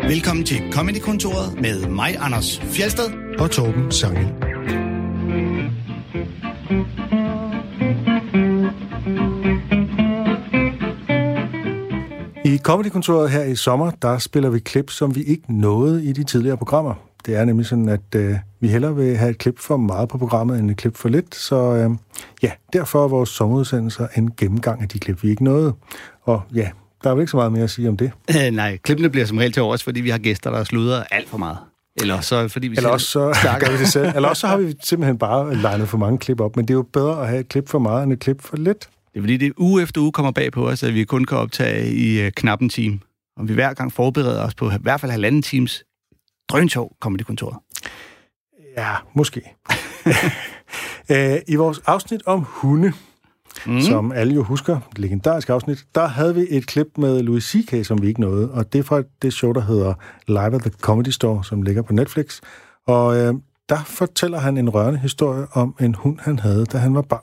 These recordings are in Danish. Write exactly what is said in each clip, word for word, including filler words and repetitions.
Velkommen til Comedy-kontoret med mig, Anders Fjeldsted og Torben Sangel. I Comedy-kontoret her i sommer, der spiller vi klip, som vi ikke nåede i de tidligere programmer. Det er nemlig sådan, at øh, vi hellere vil have et klip for meget på programmet, end et klip for lidt. Så øh, ja, derfor er vores sommerudsendelser en gennemgang af de klip, vi ikke nåede. Og ja, der er vel ikke så meget mere at sige om det. Øh, nej, klippene bliver som regel til overs, fordi vi har gæster, der sludrer alt for meget. Eller så fordi vi Eller også så gør vi det selv. Eller også så har vi simpelthen bare legnet for mange klip op. Men det er jo bedre at have et klip for meget, end et klip for lidt. Det er fordi, det uge efter uge kommer bag på os, at vi kun kan optage i uh, knap en time. Og vi hver gang forbereder os på i hvert fald halvanden times drøntog Comedy-kontoret. Ja, måske. I vores afsnit om hunde, mm. som alle jo husker, et legendarisk afsnit, der havde vi et klip med Louis C K, som vi ikke nåede. Og det er fra det show, der hedder Live at the Comedy Store, som ligger på Netflix. Og øh, der fortæller han en rørende historie om en hund, han havde, da han var barn.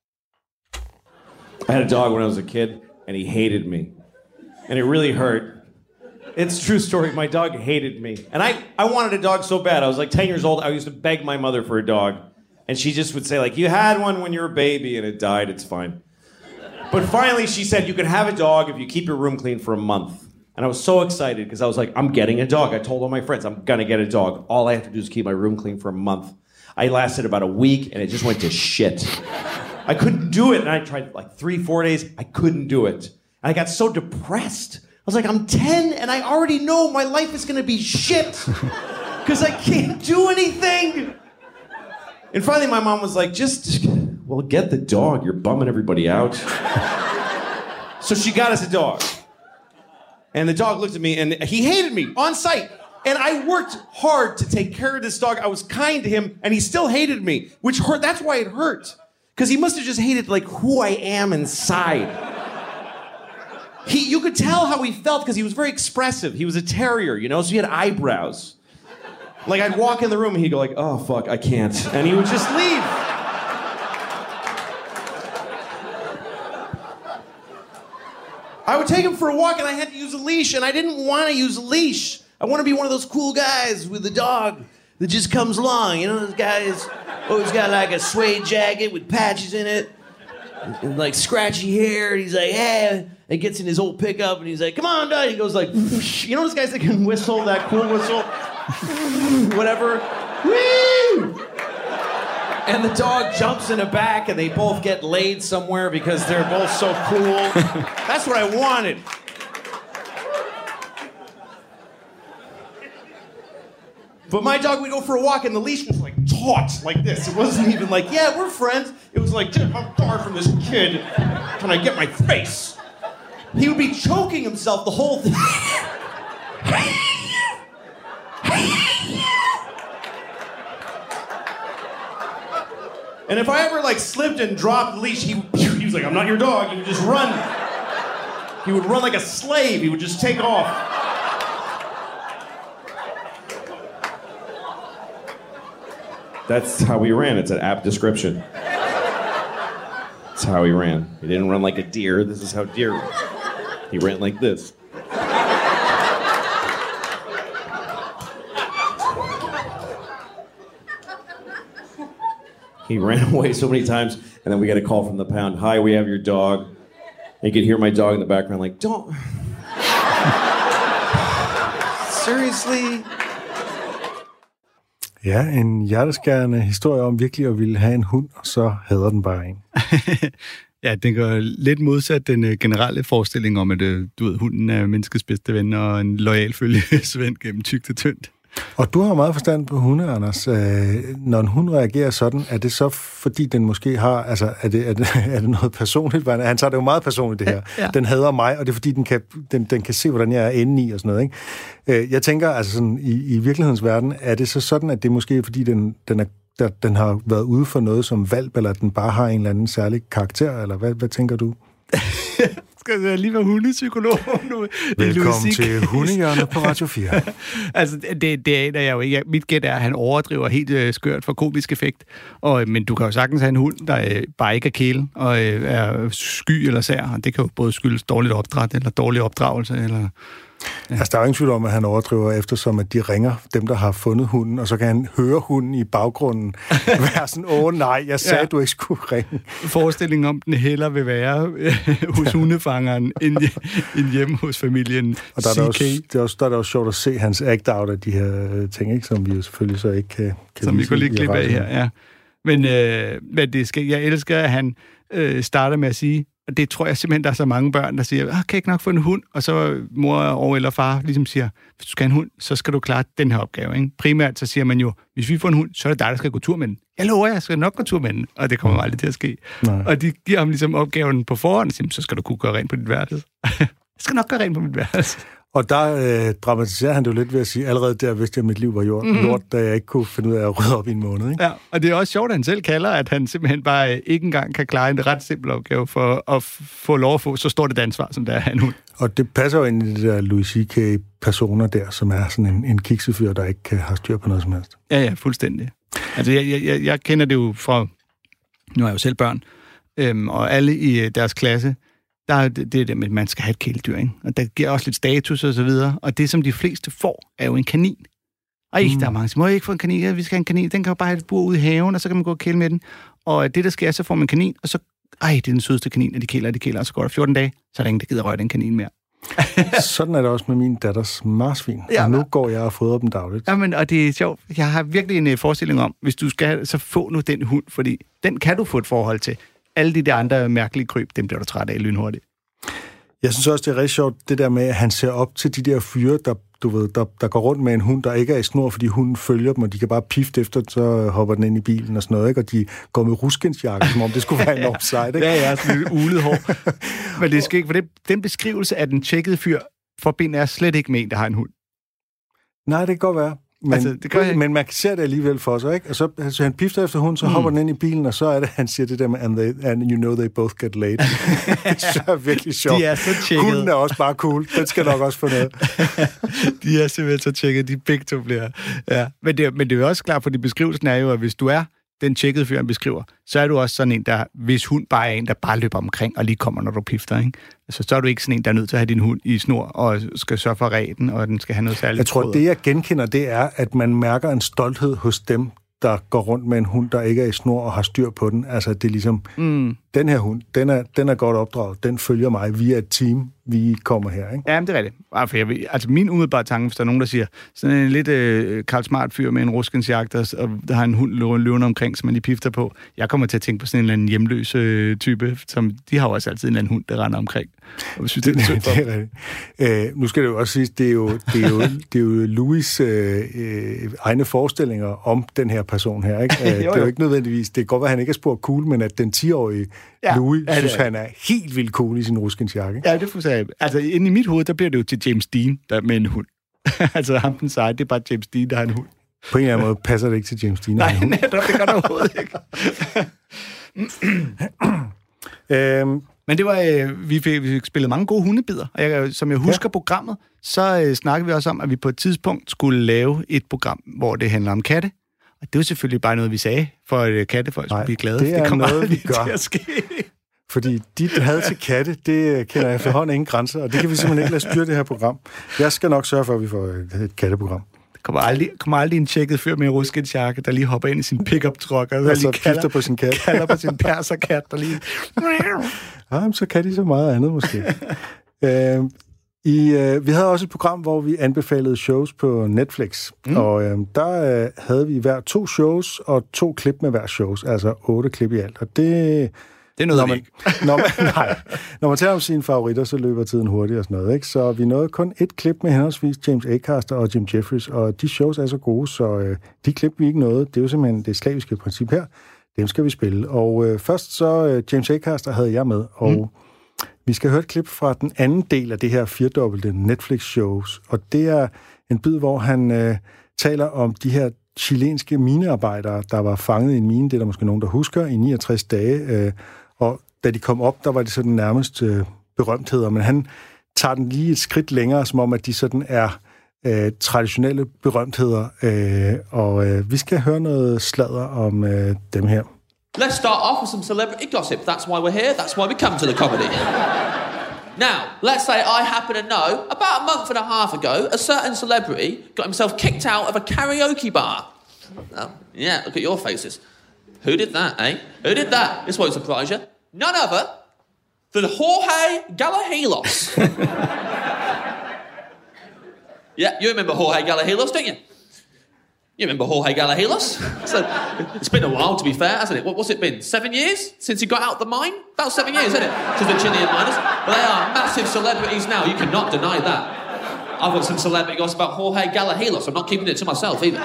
I had a dog when I was a kid, and he hated me. And it really hurt. It's a true story. My dog hated me. And I, I wanted a dog so bad. I was like ten years old. I used to beg my mother for a dog. And she just would say, like, you had one when you were a baby and it died. It's fine. But finally she said, you can have a dog if you keep your room clean for a month. And I was so excited because I was like, I'm getting a dog. I told all my friends, I'm going to get a dog. All I have to do is keep my room clean for a month. I lasted about a week and it just went to shit. I couldn't do it. And I tried like three, four days. I couldn't do it. And I got so depressed. I was like, I'm ten and I already know my life is going to be shit because I can't do anything. And finally my mom was like, just, well, get the dog. You're bumming everybody out. So she got us a dog. And the dog looked at me and he hated me on sight. And I worked hard to take care of this dog. I was kind to him and he still hated me, which hurt. That's why it hurt. Because he must have just hated, like, who I am inside. He, you could tell how he felt because he was very expressive. He was a terrier, you know, so he had eyebrows. Like, I'd walk in the room and he'd go like, oh, fuck, I can't. And he would just leave. I would take him for a walk and I had to use a leash, and I didn't want to use a leash. I want to be one of those cool guys with a dog that just comes along. You know, those guys always got like a suede jacket with patches in it and like scratchy hair. And he's like, hey, and gets in his old pickup and he's like, come on, dog. He goes like, you know those guys that can whistle, that cool whistle? Whatever. Woo! And the dog jumps in the back and they both get laid somewhere because they're both so cool. That's what I wanted. But my dog would go for a walk and the leash was like taut like this. It wasn't even like, yeah, we're friends. It was like, I'm far from this kid. Can I get my face? He would be choking himself the whole thing. And if I ever like slipped and dropped the leash, he, he was like, I'm not your dog. He would just run. He would run like a slave. He would just take off. That's how he ran. It's an apt description. That's how he ran. He didn't run like a deer. This is how deer ran. He ran like this. He ran away so many times, and then we got a call from the pound. Hi, we have your dog. And you could hear my dog in the background like, don't... Seriously? Ja, en hjerteskærende historie om virkelig at ville have en hund, og så hader den bare en. Ja, det går lidt modsat den generelle forestilling om, at du ved, hunden er menneskets bedste ven og en loyal følgesvend gennem tykt og tyndt. Og du har meget forstand på hunde, Anders. Når en hund reagerer sådan, er det så fordi den måske har, altså er det, er det, er det noget personligt? Han tager det jo meget personligt, det her. Ja. Den hader mig, og det er fordi, den kan, den, den kan se, hvordan jeg er inde i og sådan noget, ikke? Jeg tænker, altså sådan, i, i virkelighedens verden, er det så sådan, at det er måske fordi, den, den, er, der, den har været ude for noget som valp, eller den bare har en eller anden særlig karakter, eller hvad, hvad tænker du? Skal jeg lige være hundepsykolog nu? Velkommen til Hundehjørnet på Radio fire. Altså, det, det aner jeg jo ikke. Mit gæt er, at han overdriver helt øh, skørt for komisk effekt. Og, men du kan jo sagtens have en hund, der øh, bare ikke er kæle, og øh, er sky eller sær. Og det kan jo både skyldes dårligt opdræt, eller dårlig opdragelse, eller... Ja. Altså, der er jo ingen tvivl om, at han overdriver, eftersom at de ringer dem, der har fundet hunden, og så kan han høre hunden i baggrunden være sådan, åh nej, jeg sagde, ja. du ikke skulle ringe. Forestillingen om, den heller vil være hos hundefangeren, end, end hjemme hos familien og der er, der også, det er også, der er det også sjovt at se hans act-out af de her ting, ikke, som vi jo selvfølgelig så ikke kan, kan som vi kunne lige klippe af her, ja. Men, øh, men det skal, jeg elsker, at han øh, starter med at sige, og det tror jeg simpelthen, der er så mange børn, der siger, ah, kan jeg ikke nok få en hund? Og så mor og eller far ligesom siger, hvis du skal have en hund, så skal du klare den her opgave. Ikke? Primært så siger man jo, hvis vi får en hund, så er det dig, der skal gå tur med den. Jeg lover, jeg skal nok gå tur med den. Og det kommer aldrig til at ske. Nej. Og de giver ham ligesom opgaven på forhånd, og siger, så skal du kunne gøre rent på dit værelse. Jeg skal nok gøre rent på mit værelse. Og der øh, dramatiserer han det jo lidt ved at sige, allerede der vidste jeg, at mit liv var jord, mm-hmm. lort, da jeg ikke kunne finde ud af at rydde op i en måned. Ikke? Ja, og det er også sjovt, at han selv kalder, at han simpelthen bare ikke engang kan klare en ret simpel opgave for at få lov at få så stort et ansvar, som der er han hund. Og det passer jo ind i de der Louis C K-personer der, som er sådan en, en kiksefyr, der ikke har styr på noget som helst. Ja, ja, fuldstændig. Altså, jeg, jeg, jeg kender det jo fra, nu er jeg jo selv børn, øhm, og alle i deres klasse, der er det, det der med, at man skal have et kæledyr, ikke? Og der giver også lidt status og så videre. Og det, som de fleste får, er jo en kanin. Og mm. der er mange, der må jeg ikke få en kanin? Ja, vi skal have en kanin. Den kan jo bare have et bur ude i haven, og så kan man gå og kæle med den. Og det, der sker, så får man en kanin, og så, ej, det er den sødeste kanin, og de kæler, og de kæler, og så går der fjorten dage, så er der ingen, der gider røre den kanin mere. Sådan er det også med min datters marsvin. Ja, og nu går jeg og fodrer dem dagligt. Ja, men, og det er sjovt. Jeg har virkelig en forestilling om, hvis du skal, så få nu den hund, fordi den kan du få et forhold til. Alle de der andre mærkelige kryb, dem bliver du træt af lynhurtigt. Jeg synes også, det er rigtig sjovt, det der med, at han ser op til de der fyre, der, du ved, der, der går rundt med en hund, der ikke er i snor, fordi hunden følger dem, og de kan bare pifte efter, så hopper den ind i bilen og sådan noget, ikke? Og de går med ruskensjakke, som om det skulle være enormt sejt, ikke? Ja, ja, sådan lidt ulet hår. Men det skal ikke, for det, den beskrivelse af den tjekkede fyr forbinder jeg slet ikke med en, der har en hund. Nej, det kan godt være. Men, altså, det kan men man ser det alligevel for sig, ikke? Og så, så han pifter efter hunden, så mm. hopper den ind i bilen, og så er det, han siger det der med, and, they, and you know they both get laid. Det er virkelig sjovt. De er så tjekket. Hunden er også bare cool. Den skal nok også få noget. De er simpelthen så tjekket, de begge to bliver. Ja. Men, det, men det er jo også klart, fordi beskrivelsen er jo, at hvis du er den tjekkede fyr, han beskriver, så er du også sådan en, der, hvis hund bare er en, der bare løber omkring og lige kommer, når du pifter, ikke? Altså, så er du ikke sådan en, der er nødt til at have din hund i snor og skal sørge for ræden, og den skal have noget særligt. Jeg tror, tråd. Det jeg genkender, det er, at man mærker en stolthed hos dem, der går rundt med en hund, der ikke er i snor og har styr på den. Altså, det er ligesom, mm. den her hund, den er, den er godt opdraget, den følger mig, vi er et team, vi kommer her, ikke? Ja, men det er rigtigt. Altså, jeg ved, altså min umiddelbare tanke, hvis der er nogen, der siger, sådan en lidt øh, Karl Smart fyr med en ruskensjagt, og der har en hund løvende omkring, som man lige pifter på. Jeg kommer til at tænke på sådan en eller anden hjemløs øh, type, som de har jo også altid en eller anden hund, der render omkring. Og synes, det, det, det er rigtigt. Øh, nu skal det jo også sige, det er jo, det er jo, det er jo Louis øh, øh, egne forestillinger om den her person her, ikke? Øh, jo, jo. Det er jo ikke nødvendigvis, det kan godt være, at han ikke er spurgt cool, men at den ti-årige ja, Louis ja, synes, han er helt vildt cool i sin ruskensjakke. Ja, det får jeg. Altså, inde i mit hoved, der bliver det jo til James Dean, der med en hund. Altså, ham den seje, det er bare James Dean, der har en hund. På en eller anden måde passer det ikke til James Dean. Nej, netop, det gør det overhovedet ikke. øhm, Men det var, øh, vi, fik, vi fik spillet mange gode hundebider, og jeg, som jeg husker ja. programmet, så øh, snakkede vi også om, at vi på et tidspunkt skulle lave et program, hvor det handler om katte. Og det var selvfølgelig bare noget, vi sagde, for at kattefolk skulle blive glade. Det er det kommer noget, vi gør. Til at ske. Fordi dit had til katte, det kender jeg efterhånden ingen grænser, og det kan vi simpelthen ikke lade styre det her program. Jeg skal nok sørge for, at vi får et katteprogram. Der kommer aldrig, kommer aldrig en tjekket fyr med en ruskensjakke, der lige hopper ind i sin pick-up-truck, og så kalder på sin kat. kalder på sin perserkat, der lige... Ja, så kan de så meget andet, måske. øh, i, øh, vi havde også et program, hvor vi anbefalede shows på Netflix, mm. og øh, der øh, havde vi hver to shows, og to klip med hver shows, altså otte klip i alt, og det... Det er noget, når man, når man, nej, når man tager om sine favoritter, så løber tiden hurtigt og sådan noget, ikke? Så vi nåede kun et klip med henholdsvis James Acaster og Jim Jeffries, og de shows er så gode, så øh, de klip, vi ikke nåede, det er jo simpelthen det slaviske princip her, dem skal vi spille. Og øh, først så, øh, James Acaster havde jeg med, og mm. vi skal høre et klip fra den anden del af det her firedobbelte Netflix-shows, og det er en bid, hvor han øh, taler om de her chilenske minearbejdere, der var fanget i en mine, det er der måske nogen, der husker, i niogtres dage, øh, og da de kom op, der var det sådan nærmest øh, berømtheder, men han tager den lige et skridt længere, som om, at de sådan er øh, traditionelle berømtheder, øh, og øh, vi skal høre noget sladder om øh, dem her. Let's start off with some celebrity gossip. That's why we're here. That's why we come to the comedy. Now, let's say I happen to know, about a month and a half ago, a certain celebrity got himself kicked out of a karaoke bar. Oh, yeah, look at your faces. Who did that, eh? Who did that? This won't surprise you. None other than Jorge Gallegos. Yeah, you remember Jorge Gallegos, don't you? You remember Jorge Gallegos? So, it's been a while, to be fair, hasn't it? What, what's it been? Seven years since he got out the mine? About seven years, isn't it? Since the Chilean miners. But they are massive celebrities now. You cannot deny that. I've got some celebrity gossip about Jorge Gallegos. I'm not keeping it to myself either.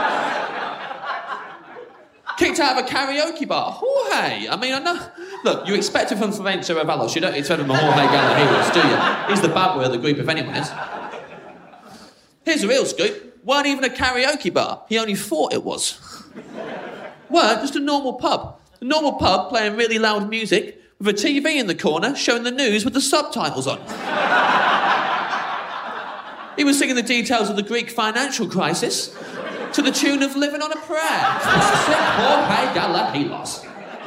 Kicked out of a karaoke bar. Jorge. I mean, I know. Look, you expect it from Florencio Avalos. You don't expect it from Jorge Gallegos, do you? He's the bad boy of the group, if anyone is. Here's the real scoop. Weren't even a karaoke bar. He only thought it was. Weren't just a normal pub. A normal pub playing really loud music with a T V in the corner showing the news with the subtitles on. He was singing the details of the Greek financial crisis to the tune of Living on a Prayer. Classic Jorge Gallegos.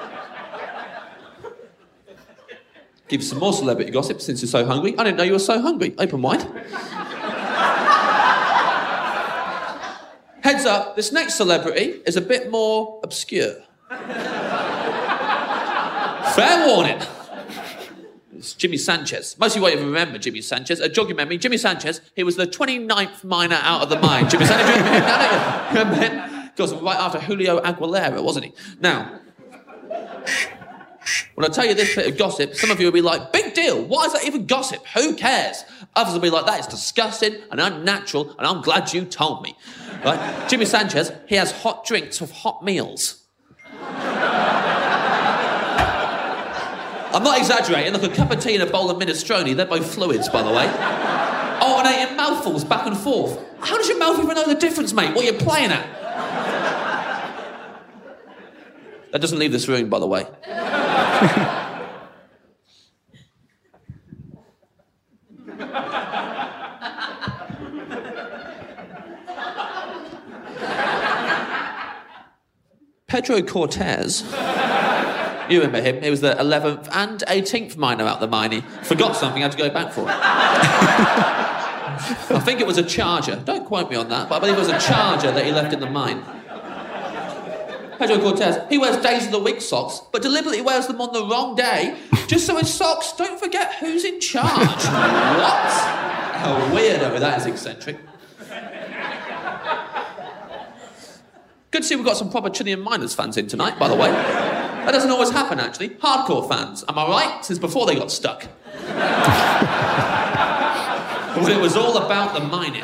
Give you some more celebrity gossip since you're so hungry. I didn't know you were so hungry. Open wide. Heads up, this next celebrity is a bit more obscure. Fair warning. It's Jimmy Sanchez. Most of you won't even remember Jimmy Sanchez. Uh, jog your memory, Jimmy Sanchez, he was the twenty-ninth miner out of the mine. Jimmy Sanchez, you remember him? Remember him? Because right after Julio Aguilera, wasn't he? Now, when I tell you this bit of gossip, some of you will be like, big deal, why is that even gossip? Who cares? Others will be like, that is disgusting and unnatural, and I'm glad you told me. Right? Jimmy Sanchez, he has hot drinks with hot meals. I'm not exaggerating. Look, a cup of tea and a bowl of minestrone, they're both fluids, by the way. Alternating mouthfuls back and forth. How does your mouth even know the difference, mate? What are you playing at? That doesn't leave this room, by the way. Pedro Cortez. You remember him? He was the eleventh and eighteenth miner out the mine. He forgot something, had to go back for it. I think it was a charger. Don't quote me on that, but I believe it was a charger that he left in the mine. Pedro Cortez, he wears days of the week socks, but deliberately wears them on the wrong day, just so his socks don't forget who's in charge. What? How weirdo, that is eccentric. Good to see we've got some proper Chilean miners fans in tonight, by the way. That doesn't always happen, actually. Hardcore fans, am I right? Since before they got stuck. When it was all about the mining.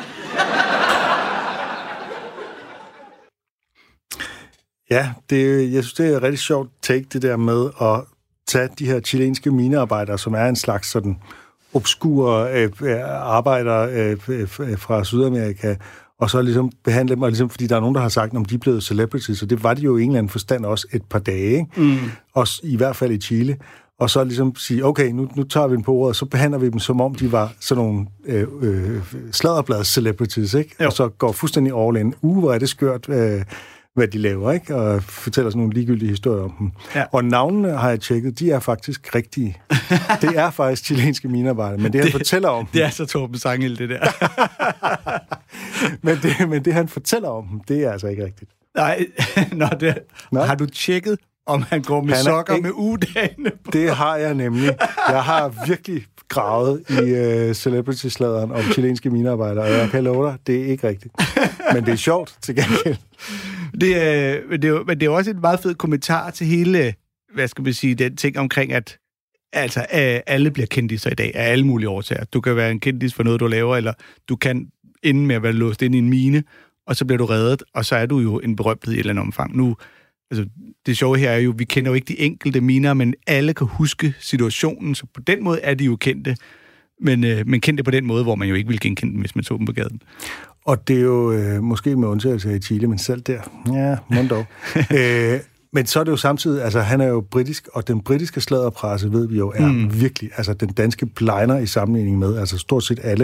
Ja, det, jeg synes, det er et rigtig sjovt take, det der med at tage de her chilenske minearbejdere, som er en slags sådan obskure øh, arbejdere øh, øh, fra Sydamerika, og så ligesom behandle dem, og ligesom, fordi der er nogen, der har sagt, om de er blevet celebrities, og det var de jo i en eller anden forstand også et par dage, ikke? Mm. Også i hvert fald i Chile. Og så ligesom sige, okay, nu, nu tager vi dem på ordet, og så behandler vi dem, som om de var sådan nogle øh, øh, sladderblads-celebrities, ikke? Jo. Og så går fuldstændig all in. Uh, hvor er det skørt, øh, hvad de laver, ikke? Og fortæller sådan nogle ligegyldige historier om dem. Ja. Og navnene har jeg tjekket, de er faktisk rigtige. Det er faktisk chilenske minearbejdere, men det, han det, fortæller om dem... Det er så Torben Sangel, det der. men, det, men det, han fortæller om dem, det er altså ikke rigtigt. Nej, Nå, det, har du tjekket, om han går med han sokker ikke, med ugedagene på? Det har jeg nemlig. Jeg har virkelig gravet i uh, celebrity-sladeren om chilenske minearbejdere, og jeg kan love dig, det er ikke rigtigt. Men det er sjovt til gengæld. Det er, men, det er jo, men det er også et meget fed kommentar til hele, hvad skal vi sige, den ting omkring, at altså, alle bliver kendiser i dag af alle mulige årsager. Du kan være en kendis for noget, du laver, eller du kan ende med at være låst ind i en mine, og så bliver du reddet, og så er du jo en berømthed i et eller andet omfang. Nu, altså, det sjove her er jo, vi kender jo ikke de enkelte miner, men alle kan huske situationen, så på den måde er de jo kendte, men, øh, men kendte på den måde, hvor man jo ikke ville genkende dem, hvis man så dem på gaden. Og det er jo øh, måske med undtagelse i Chile, men selv der, ja, mund dog. øh, men så er det jo samtidig, altså han er jo britisk, og den britiske sladderpresse, ved vi jo, er mm. virkelig, altså den danske bliner i sammenligning med, altså stort set alle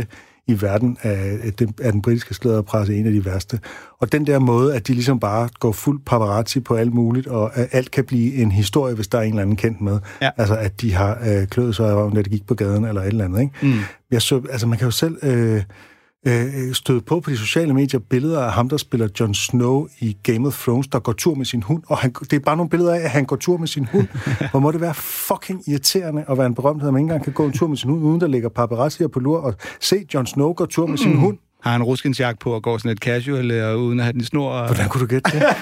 i verden af, af den britiske slæderpresse en af de værste. Og den der måde, at de ligesom bare går fuld paparazzi på alt muligt, og at alt kan blive en historie, hvis der er en eller anden kendt med. Ja. Altså, at de har øh, kløet sig i røven, da de gik på gaden, eller et eller andet, ikke? Mm. Jeg så, altså, man kan jo selv øh, øh, støde på på de sociale medier billeder af ham, der spiller Jon Snow i Game of Thrones, der går tur med sin hund, og han, det er bare nogle billeder af, at han går tur med sin hund. Hvor må det være fucking irriterende at være en berømthed, at man ikke engang kan gå en tur med sin hund, uden der ligger paparazzier på lur, og se Jon Snow gå tur med mm. sin hund. Har han ruskinsjagt på og går sådan lidt casual, og uden at have den i snor? Og... Hvordan kunne du gætte det?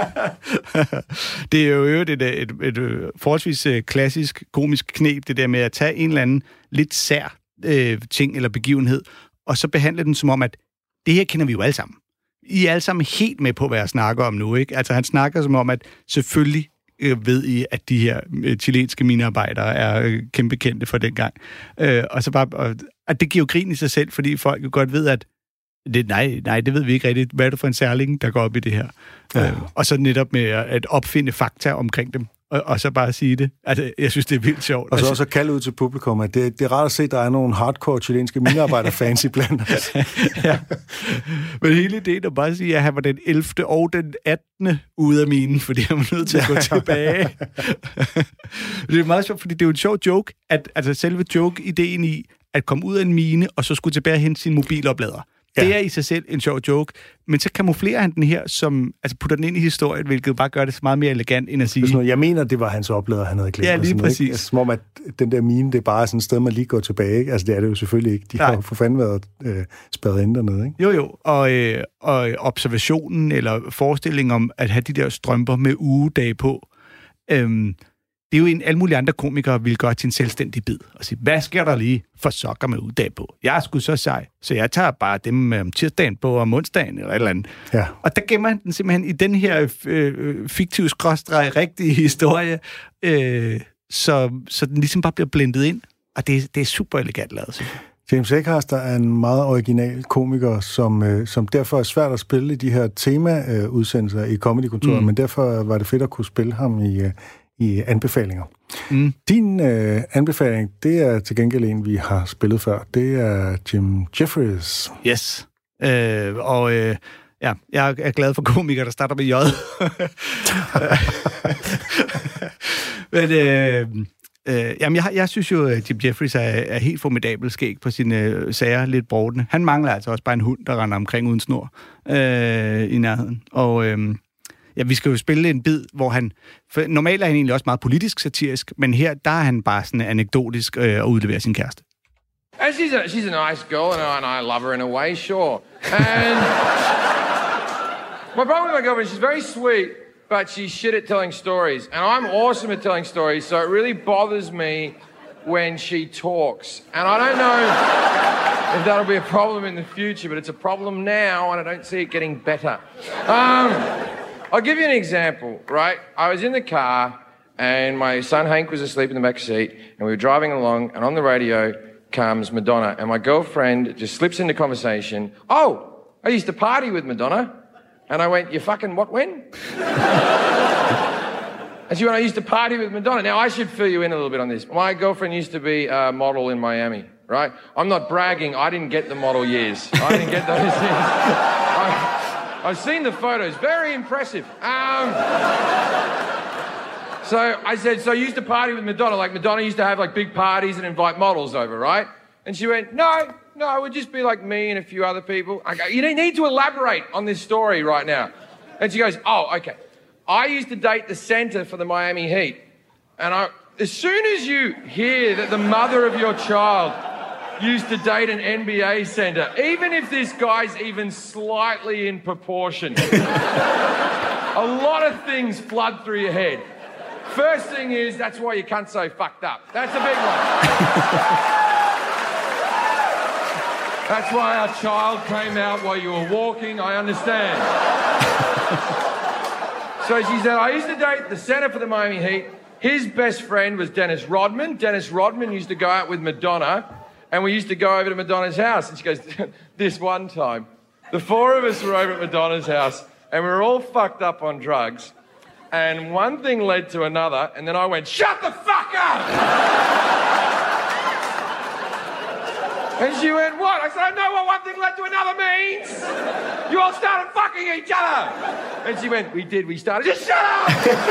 Det er jo et, et, et, et, et forholdsvis klassisk komisk knep, det der med at tage en eller anden lidt sær øh, ting eller begivenhed, og så behandle den som om, at det her kender vi jo alle sammen. I er alle sammen helt med på, hvad jeg snakker om nu, ikke? Altså han snakker som om, at selvfølgelig øh, ved I, at de her øh, chilenske minearbejdere er øh, kæmpe kendte for dengang. Øh, og så bare, og, at det giver jo grin i sig selv, fordi folk jo godt ved, at Det, nej, nej, det ved vi ikke rigtigt. Hvad er det for en særling, der går op i det her? Ja. Øh, og så netop med at opfinde fakta omkring dem, og, og så bare sige det. Altså, jeg synes, det er vildt sjovt. Og så også kalde ud til publikum, at det, det er rart at se, at der er nogle hardcore chilenske minearbejderfans i blandt os. Ja. Men hele ideen er bare at sige, at han var den ellevte og den attende ude af minen, fordi han var nødt til at gå tilbage. Det er meget sjovt, fordi det er jo en sjov joke, at altså selve joke-ideen i at komme ud af en mine, og så skulle tilbage hen sin mobiloplader. Ja. Det er i sig selv en sjov joke, men så kamuflerer han den her, som altså putter den ind i historien, hvilket bare gør det så meget mere elegant, end at sige... Noget, jeg mener, det var hans oplader, han havde glemt. Ja, lige præcis. Altså, som om, at den der mine, det er bare sådan et sted, man lige går tilbage. Ikke? Altså, det er det jo selvfølgelig ikke. De Nej. har jo for fanden været øh, spærret ind dernede, ikke? Jo, jo. Og, øh, og observationen, eller forestillingen om at have de der strømper med ugedage på, øhm, det er jo en alle mulige andre komikere vil gøre til en selvstændig bid og sige, hvad sker der lige for sokker med uddag på? Jeg er sgu så sej, så jeg tager bare dem om tirsdagen på om onsdagen eller et eller andet. Ja. Og der gemmer han den simpelthen i den her øh, fiktive skråstreg rigtige historie, øh, så, så den ligesom bare bliver blendet ind. Og det, det er super elegant lavet, synes jeg. James Acaster er en meget original komiker, som, øh, som derfor er svært at spille i de her tema-udsendelser i Comedy-kontoret, mm. men derfor var det fedt at kunne spille ham i... Øh, i anbefalinger. Mm. Din øh, anbefaling, det er til gengæld en, vi har spillet før. Det er Jim Jefferies. Yes. Øh, og øh, ja, jeg er glad for komikere, der starter med J. Men øh, øh, jamen, jeg, jeg synes jo, at Jim Jefferies er, er helt formidabel skæg på sine øh, sager, lidt brodende. Han mangler altså også bare en hund, der render omkring uden snor øh, i nærheden. Og... Øh, Ja, vi skal jo spille en bid, hvor han... For normalt er han egentlig også meget politisk satirisk, men her, der er han bare sådan anekdotisk øh, at udlevere sin kæreste. And she's a, she's a nice girl, and I, and I love her in a way, sure. And my problem with my girlfriend, she's very sweet, but she's shit at telling stories. And I'm awesome at telling stories, so it really bothers me when she talks. And I don't know if that'll be a problem in the future, but it's a problem now, and I don't see it getting better. Um... I'll give you an example, right? I was in the car, and my son Hank was asleep in the back seat, and we were driving along, and on the radio comes Madonna, and my girlfriend just slips into conversation. Oh, I used to party with Madonna. And I went, you fucking what, when? And she went, I used to party with Madonna. Now, I should fill you in a little bit on this. My girlfriend used to be a model in Miami, right? I'm not bragging. I didn't get the model years. I didn't get those years. I, I've seen the photos. Very impressive. Um, so I said, so you used to party with Madonna. Like Madonna used to have like big parties and invite models over, right? And she went, no, no, it would just be like me and a few other people. I go, you need to elaborate on this story right now. And she goes, oh, okay. I used to date the center for the Miami Heat. And I, as soon as you hear that the mother of your child used to date an N B A center, even if this guy's even slightly in proportion, a lot of things flood through your head. First thing is, that's why you can't so fucked up. That's a big one. That's why our child came out while you were walking, I understand. So she said, I used to date the center for the Miami Heat. His best friend was Dennis Rodman. Dennis Rodman used to go out with Madonna. And we used to go over to Madonna's house. And she goes, this one time, the four of us were over at Madonna's house, and we were all fucked up on drugs. And one thing led to another, and then I went, shut the fuck up! And she went, what? I said, I know what one thing led to another means. You all started fucking each other. And she went, we did, we started. Just shut up!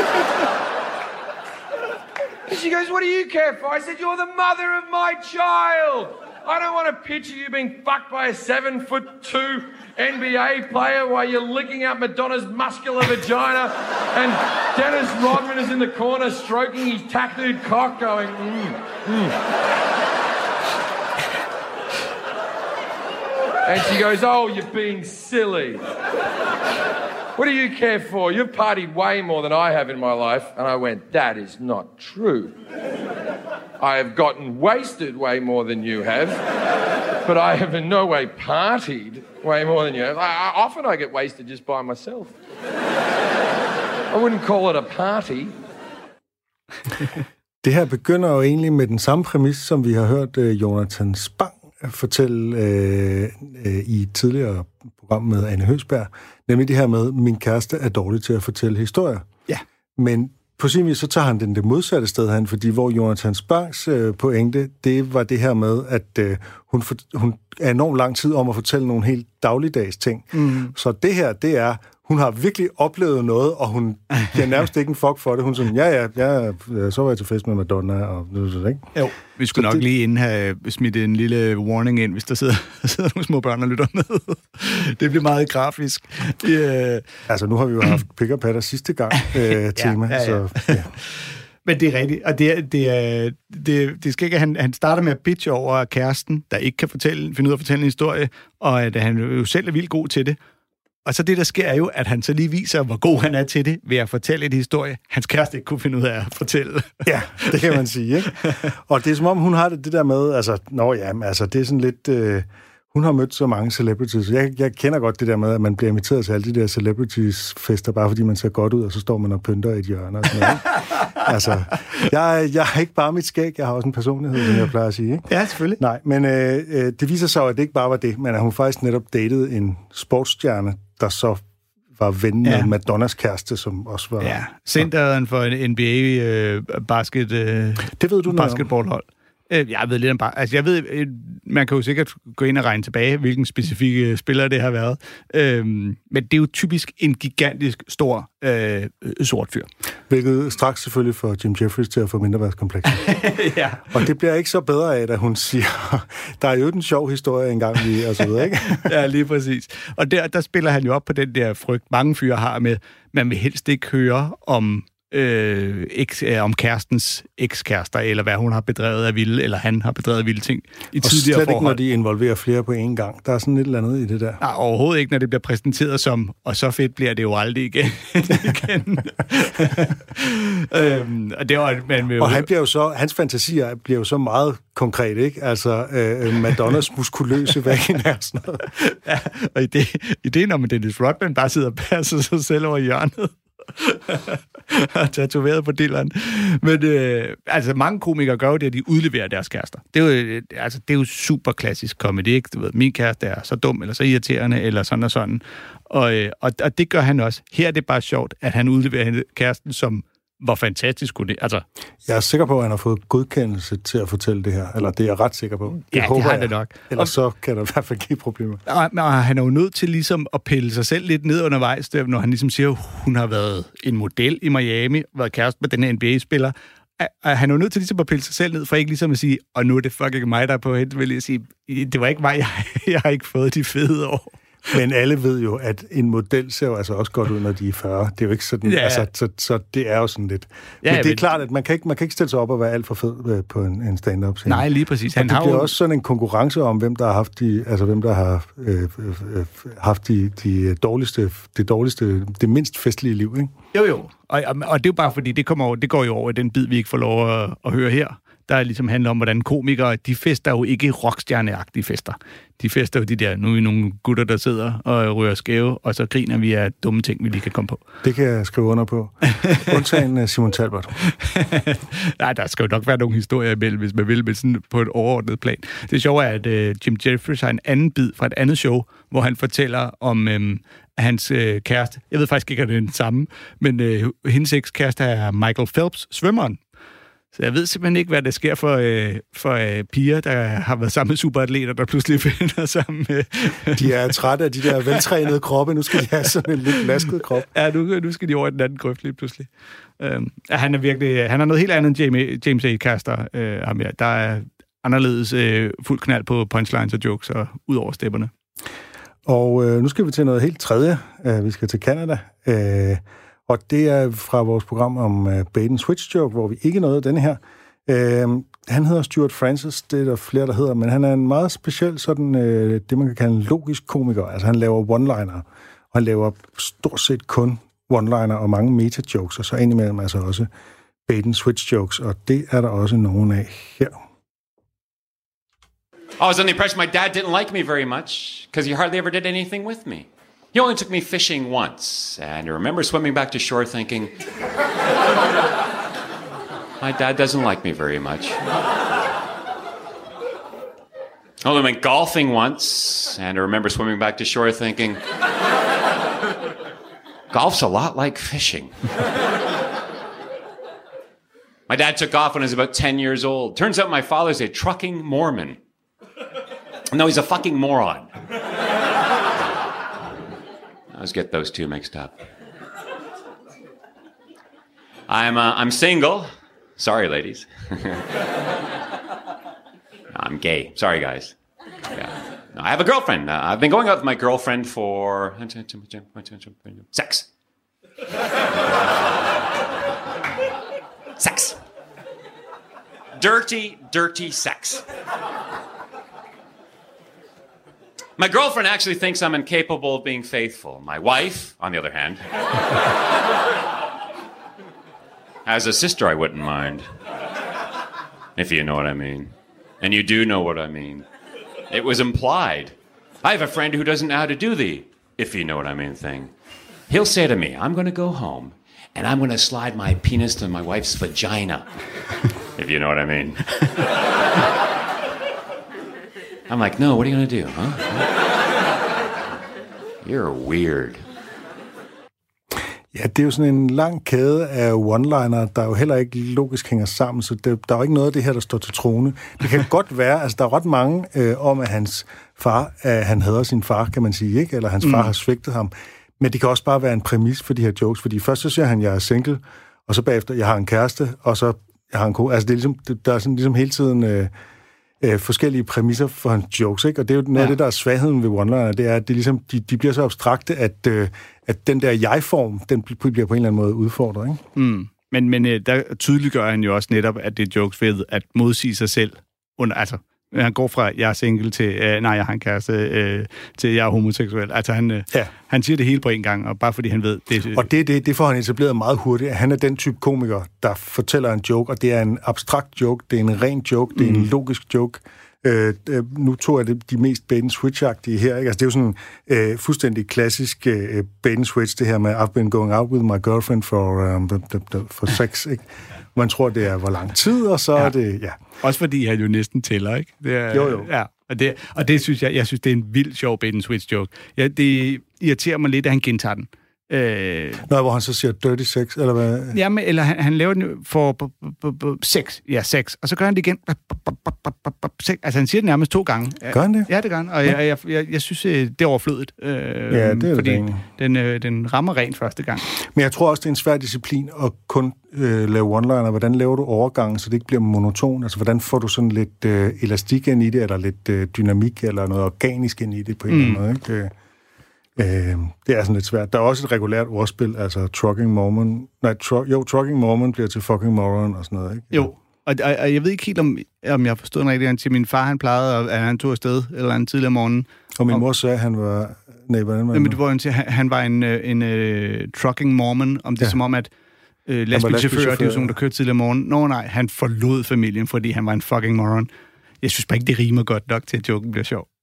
And she goes, what do you care for? I said, you're the mother of my child. I don't want to picture you being fucked by a seven foot two N B A player while you're licking out Madonna's muscular vagina and Dennis Rodman is in the corner stroking his tattooed cock going, mm, mm. And she goes, oh, you're being silly. What do you care for? You've partied way more than I have in my life. And I went, that is not true. I have gotten wasted way more than you have, but I have in no way partied way more than you have. I, I, often I get wasted just by myself. I wouldn't call it a party. Det her begynder jo egentlig med den samme præmis, som vi har hørt uh, Jonathan Spang fortælle øh, øh, i et tidligere program med Anne Høgsberg, nemlig det her med, min kæreste er dårlig til at fortælle historier. Ja. Men på sin vis, så tager han den det modsatte sted hen, fordi hvor Jonathan Spangs øh, pointe, det var det her med, at øh, hun, for, hun er enormt lang tid om at fortælle nogle helt dagligdags ting. Mm. Så det her, det er, hun har virkelig oplevet noget, og hun giver nærmest ikke en fuck for det. Hun sådan, ja, ja, ja, så var jeg til fest med Madonna, og det ikke? Jo, vi skulle så nok det... lige inden have smidt en lille warning ind, hvis der sidder, sidder nogle små børn og lytter med. Det bliver meget grafisk. Yeah. Altså, nu har vi jo haft pick og patter sidste gang øh, tema, ja, ja, ja. Så... Ja. Men det er rigtigt, og det, er, det, er, det, det skal ikke, han, han starter med at bitche over kæresten, der ikke kan fortælle, finde ud af at fortælle en historie, og at han jo selv er vildt god til det. Og så det, der sker, er jo, at han så lige viser, hvor god han er til det, ved at fortælle en historie, hans kæreste ikke kunne finde ud af at fortælle. Ja, det kan man sige, ikke? Og det er som om, hun har det, det der med, altså, nå ja, altså, det er sådan lidt... Øh, hun har mødt så mange celebrities. Jeg, jeg kender godt det der med, at man bliver inviteret til alle de der celebrities-fester, bare fordi man ser godt ud, og så står man og pynter i et hjørne og sådan noget. Altså, jeg, jeg har ikke bare mit skæg, jeg har også en personlighed, som jeg plejer at sige, ikke? Ja, selvfølgelig. Nej, men øh, det viser sig, at det ikke bare var det, men at hun faktisk netop datede en sportsstjerne, der så var ven med ja. Madonnas kæreste, som også var... Ja, centeren for en N B A øh, basket, øh, det ved du basketballhold. Jeg ved lidt om bare... Altså, jeg ved... Man kan jo sikkert gå ind og regne tilbage, hvilken specifikke spiller det har været. Øhm, men det er jo typisk en gigantisk, stor, øh, sort fyr. Hvilket straks selvfølgelig får Jim Jeffries til at få mindreværdskomplekser. Ja. Og det bliver ikke så bedre af, at hun siger, der er jo en sjov historie engang lige, og så videre, ikke? Ja, lige præcis. Og der, der spiller han jo op på den der frygt, mange fyre har med, man vil helst ikke høre om... Øh, eks, øh, om kærestens ekskærester, eller hvad hun har bedrevet af vilde, eller han har bedrevet af vilde ting i og tidligere forhold. Og slet ikke, når de involverer flere på én gang. Der er sådan et eller andet i det der. Nej, overhovedet ikke, når det bliver præsenteret som, og så fedt bliver det jo aldrig igen. igen. øhm, og det var, man og han bliver jo så, hans fantasier bliver jo så meget konkret, ikke? Altså, øh, Madonnas muskuløse vagina og sådan noget. Ja, og ideen om, at Dennis Rodman bare sidder og passer sig selv over hjørnet. tatoveret på dilleren. Men øh, altså, mange komikere gør jo det, at de udleverer deres kærester. Det er jo, altså, det er jo super klassisk comedy, ikke? Du ved, min kæreste er så dum, eller så irriterende, eller sådan og sådan. Og, øh, og, og det gør han også. Her er det bare sjovt, at han udleverer kæresten, som hvor fantastisk kunne det. Altså, jeg er sikker på, at han har fået godkendelse til at fortælle det her. Eller det er jeg ret sikker på. Det ja, det har han det nok. Ellers så kan der i hvert fald give problemer. Og, og han er jo nødt til ligesom at pille sig selv lidt ned undervejs, når han ligesom siger, at hun har været en model i Miami, været kæreste med den her N B A-spiller. Og han er jo nødt til ligesom at pille sig selv ned, for ikke ligesom at sige, og nu er det fucking mig, der er på hende, vil jeg sige, det var ikke mig, jeg, jeg har ikke fået de fede år. Men alle ved jo, at en model ser jo altså også godt ud, når de er fyrre. Det er jo ikke sådan, ja. altså, så, så det er jo sådan lidt. Ja, men det er men... klart, at man kan, ikke, man kan ikke stille sig op og være alt for fed på en, en stand-up scene. Nej, lige præcis. Han og det har bliver jo... også sådan en konkurrence om, hvem der har haft de, altså hvem der har øh, øh, haft de, de dårligste, det dårligste, det mindst festlige liv, ikke? Jo, jo. Og, og det er jo bare fordi, det, kommer over, det går jo over i den bid, vi ikke får lov at, at høre her. Der ligesom handler om, hvordan komikere, de fester jo ikke rockstjerneagtige fester. De fester jo de der, nu er vi nogle gutter, der sidder og rører skæve, og så griner vi af dumme ting, vi lige kan komme på. Det kan jeg skrive under på. Undtagen Simon Talbot. Nej, der skal jo nok være nogle historier imellem, hvis man vil, med sådan på et overordnet plan. Det sjove er, at uh, Jim Jeffries har en anden bid fra et andet show, hvor han fortæller om um, hans uh, kæreste. Jeg ved faktisk ikke, om det er den samme, men uh, hendes ekskæreste er Michael Phelps, svømmeren. Så jeg ved simpelthen ikke, hvad der sker for, øh, for øh, piger, der har været sammen med superatleter, der pludselig finder sammen med... De er trætte af de der veltrænede kroppe. Nu skal de have sådan en lidt lasket krop. Ja, nu, nu skal de over i den anden grøft lige pludselig. Øhm, ja, han er virkelig... Han er noget helt andet end James, James A. Caster. Øh, ham, ja. Der er anderledes øh, fuld knald på punchlines og jokes og ud over stepperne. Og øh, nu skal vi til noget helt tredje. Uh, vi skal til Canada. Uh, og det er fra vores program om uh, bait and switch joke, hvor vi ikke nåede denne her. Uh, han hedder Stuart Francis, det er der flere, der hedder, men han er en meget speciel sådan, uh, det man kan kalde en logisk komiker. Altså han laver one-liner, og han laver stort set kun one-liner og mange meta-jokes, og så indimellem altså også bait and switch jokes, og det er der også nogen af her. I was under the impression my dad didn't like me very much because he hardly ever did anything with me. He only took me fishing once, and I remember swimming back to shore thinking, my dad doesn't like me very much. I only went golfing once, and I remember swimming back to shore thinking, golf's a lot like fishing. My dad took off when I was about ten years old. Turns out my father's a trucking Mormon. No, he's a fucking moron. I always get those two mixed up. I'm uh, I'm single. Sorry, ladies. I'm gay. Sorry, guys. Yeah. No, I have a girlfriend. Uh, I've been going out with my girlfriend for sex. Sex. Dirty, dirty sex. My girlfriend actually thinks I'm incapable of being faithful. My wife, on the other hand, has a sister I wouldn't mind. If you know what I mean. And you do know what I mean. It was implied. I have a friend who doesn't know how to do the if you know what I mean thing. He'll say to me, I'm going to go home and I'm going to slide my penis to my wife's vagina. If you know what I mean. I'm like, no, what are you going to do, huh? You're weird. Ja, det er jo sådan en lang kæde af one-liner, der jo heller ikke logisk hænger sammen, så det, der er jo ikke noget af det her, der står til trone. Det kan godt være, altså der er ret mange øh, om, at hans far, at han hader sin far, kan man sige, ikke? Eller hans far mm. har svigtet ham. Men det kan også bare være en præmis for de her jokes, fordi først så siger han, jeg er single, og så bagefter, jeg har en kæreste, og så jeg har en kone. Altså det er ligesom, det, der er sådan ligesom hele tiden... Øh, Øh, forskellige præmisser for hans jokes, ikke? Og det er jo noget ja. af det, der er svagheden ved one-liner, det er, at det ligesom, de, de bliver så abstrakte, at, øh, at den der jeg-form, den bliver på en eller anden måde udfordret, ikke? Mm. Men, men øh, der tydeliggør han jo også netop, at det er jokes ved at modsige sig selv. Under, altså, han går fra, jeg er single, til, øh, nej, jeg har en kæreste, øh, til, jeg er homoseksuel. Altså, han, øh, ja. han siger det hele på en gang, og bare fordi han ved... Det, og det, det, det får han etableret meget hurtigt. Han er den type komiker, der fortæller en joke, og det er en abstrakt joke, det er en ren joke, det er mm. en logisk joke. Øh, nu tog jeg det, de mest bait and switch-agtige her, ikke? Altså, det er jo sådan øh, fuldstændig klassisk øh, bait and switch, det her med, I've been going out with my girlfriend for, um, the, the, the, for sex, ikke? Man tror, det er hvor lang tid, og så ja. er det... Ja. Også fordi han jo næsten tæller, ikke? Det er, jo, jo. Ja, og det, og det synes jeg, jeg synes, det er en vild sjov bait and switch joke. Ja, det irriterer mig lidt, at han gentager den. Øh, Nå, hvor han så siger dirty sex, eller hvad? Jamen, eller han, han laver den for b- b- b- sex. Ja, sex. Og så gør han det igen. B- b- b- b- b- sex. Altså, han siger det nærmest to gange. Gør han det? Ja, det gør han. Og jeg, jeg, jeg, jeg synes, det er overflødigt. Øh, ja, det er fordi det den, øh, den rammer rent første gang. Men jeg tror også, det er en svær disciplin at kun øh, lave one-liner. Hvordan laver du overgangen, så det ikke bliver monoton? Altså, hvordan får du sådan lidt øh, elastik ind i det, eller lidt øh, dynamik, eller noget organisk ind i det på en mm. eller anden måde, ikke? Øh, det er sådan lidt svært. Der er også et regulært ordspil, altså trucking Mormon. Nej, tru, jo, trucking Mormon bliver til fucking moron og sådan noget, ikke? Jo, og, og, og jeg ved ikke helt, om, om jeg forstod den rigtigt. Til min far, han plejede, at han tog afsted eller en tidligere morgen. Og min mor sagde, at han var... Nej, hvordan var det? Men det var en, han, han var en, en, en uh, trucking Mormon, om det ja. som om, at uh, lastbilchauffører, det er jo sådan, der kørte tidligere morgen. Nå nej, han forlod familien, fordi han var en fucking moron. Jeg synes bare ikke, det rimer godt nok til, at joken bliver sjov.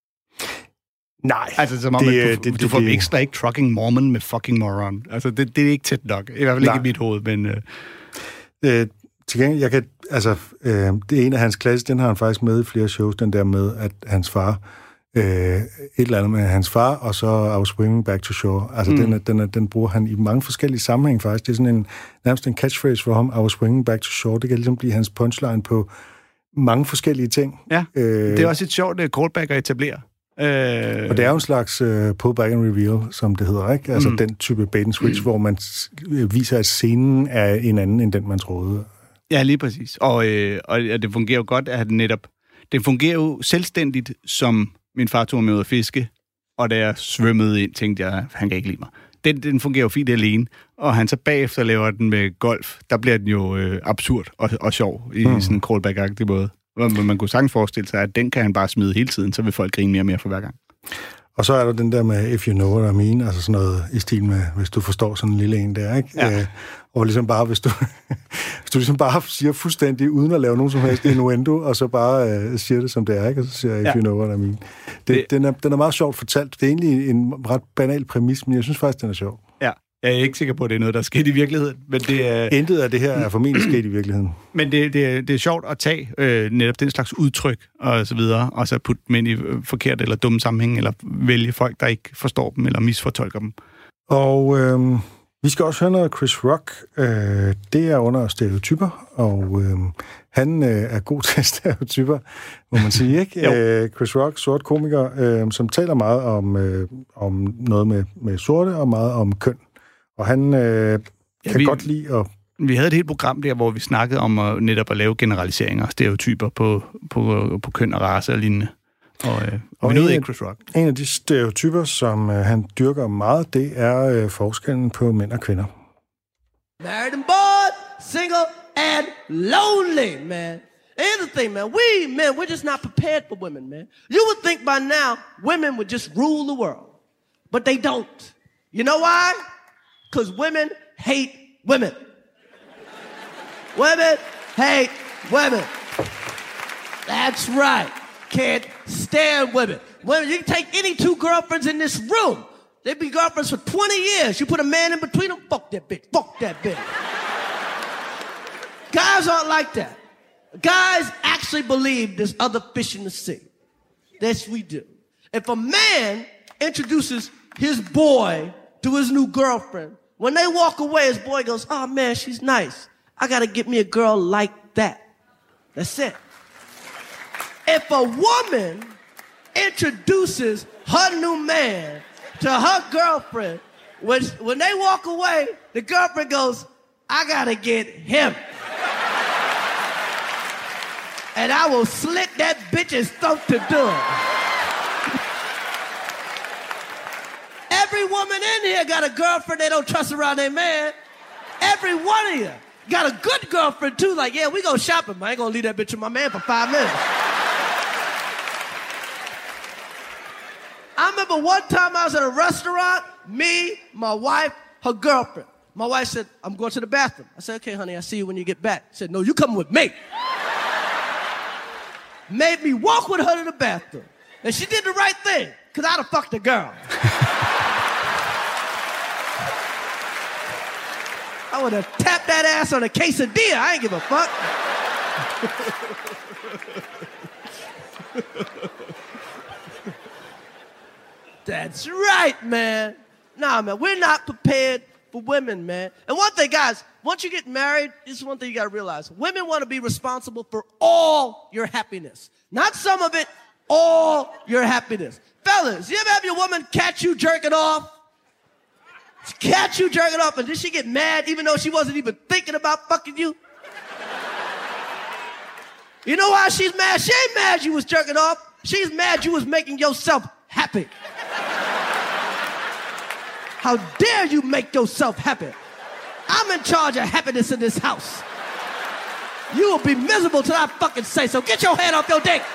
Nej. Altså, som om, det, at du, det, du får det, ekstra ikke trucking Mormon med fucking moron. Altså, det, det er ikke tæt nok. I hvert fald nej. ikke i mit hoved, men... Øh. Øh, til gengæld, jeg kan... Altså, øh, det er en af hans klasse, den har han faktisk med i flere shows, den der med, at hans far øh, et eller andet med hans far, og så I was swimming back to shore. Altså, mm. den, er, den, er, den bruger han i mange forskellige sammenhæng, faktisk. Det er sådan en, nærmest en catchphrase for ham, I was swimming back to shore. Det kan ligesom blive hans punchline på mange forskellige ting. Ja, øh, det er også et sjovt uh, callback at etablere. Øh... Og det er jo en slags uh, pull back and reveal, som det hedder, ikke? Altså mm. den type bait and switch, mm. hvor man viser, at scenen er en anden, end den man troede. Ja, lige præcis. Og, øh, og det fungerer jo godt, at netop... Det fungerer jo selvstændigt, som min far tog med ud at fiske, og da jeg svømmede ind, tænkte jeg, han kan ikke lide mig. Den, den fungerer jo fint alene, og han så bagefter laver den med golf, der bliver den jo øh, absurd og, og sjov i mm. sådan en callback-agtig måde. Man, man kunne sagtens forestille sig, at den kan han bare smide hele tiden, så vil folk grine mere og mere for hver gang. Og så er der den der med, if you know what I mean, altså sådan noget i stil med, hvis du forstår sådan en lille en der, ikke? Ja. Øh, og ligesom bare, hvis du, hvis du ligesom bare siger fuldstændig, uden at lave nogen som helst innuendo, og så bare øh, siger det, som det er, ikke? Og så siger jeg, if ja. you know what I mean. Det, det, den, er, den er meget sjovt fortalt. Det er egentlig en ret banal præmis, men jeg synes faktisk, den er sjov. Ja, jeg er ikke sikker på, at det er noget, der er sket i virkeligheden. Men det er... Intet af det her er formentlig sket i virkeligheden. Men det, det, er, det er sjovt at tage øh, netop den slags udtryk og så videre, og så putte dem ind i forkert eller dumme sammenhæng, eller vælge folk, der ikke forstår dem eller misfortolker dem. Og øh, vi skal også høre noget af Chris Rock. Øh, det er under stereotyper, og øh, han øh, er god til stereotyper, må man sige, ikke? øh, Chris Rock, sort komiker, øh, som taler meget om, øh, om noget med, med sorte og meget om køn. Og han øh, kan ja, vi, godt lide at... Vi havde et helt program der, hvor vi snakkede om at, netop at lave generaliseringer og stereotyper på, på, på køn og race og lignende. Og, øh, og, og vi nåede ikke Chris Rock. En af de stereotyper, som øh, han dyrker meget, det er øh, forskellen på mænd og kvinder. Married and bored, single and lonely, man. Here's the thing, man. We men, we're just not prepared for women, man. You would think by now women would just rule the world. But they don't. You know why? Because women hate women. Women hate women. That's right. Can't stand women. Women, you can take any two girlfriends in this room. They've been girlfriends for twenty years. You put a man in between them, fuck that bitch. Fuck that bitch. Guys aren't like that. Guys actually believe there's other fish in the sea. Yes, we do. If a man introduces his boy to his new girlfriend, when they walk away, his boy goes, oh man, she's nice. I gotta get me a girl like that. That's it. If a woman introduces her new man to her girlfriend, when, when they walk away, the girlfriend goes, I gotta get him. And I will slit that bitch's throat to do it. Every woman in here got a girlfriend they don't trust around their man. Every one of you got a good girlfriend too. Like, yeah, we go shopping, man. I ain't gonna leave that bitch with my man for five minutes. I remember one time I was at a restaurant, me, my wife, her girlfriend. My wife said, I'm going to the bathroom. I said, okay, honey, I'll see you when you get back. She said, no, you coming with me. Made me walk with her to the bathroom. And she did the right thing, because I'd have fucked the girl. I would have tapped that ass on a quesadilla. I ain't give a fuck. That's right, man. Nah, man, we're not prepared for women, man. And one thing, guys, once you get married, this is one thing you gotta realize. Women want to be responsible for all your happiness. Not some of it, all your happiness. Fellas, you ever have your woman catch you jerking off? Catch you jerking off, and then she get mad even though she wasn't even thinking about fucking you? You know why she's mad? She ain't mad you was jerking off. She's mad you was making yourself happy. How dare you make yourself happy? I'm in charge of happiness in this house. You will be miserable till I fucking say so. Get your hand off your dick.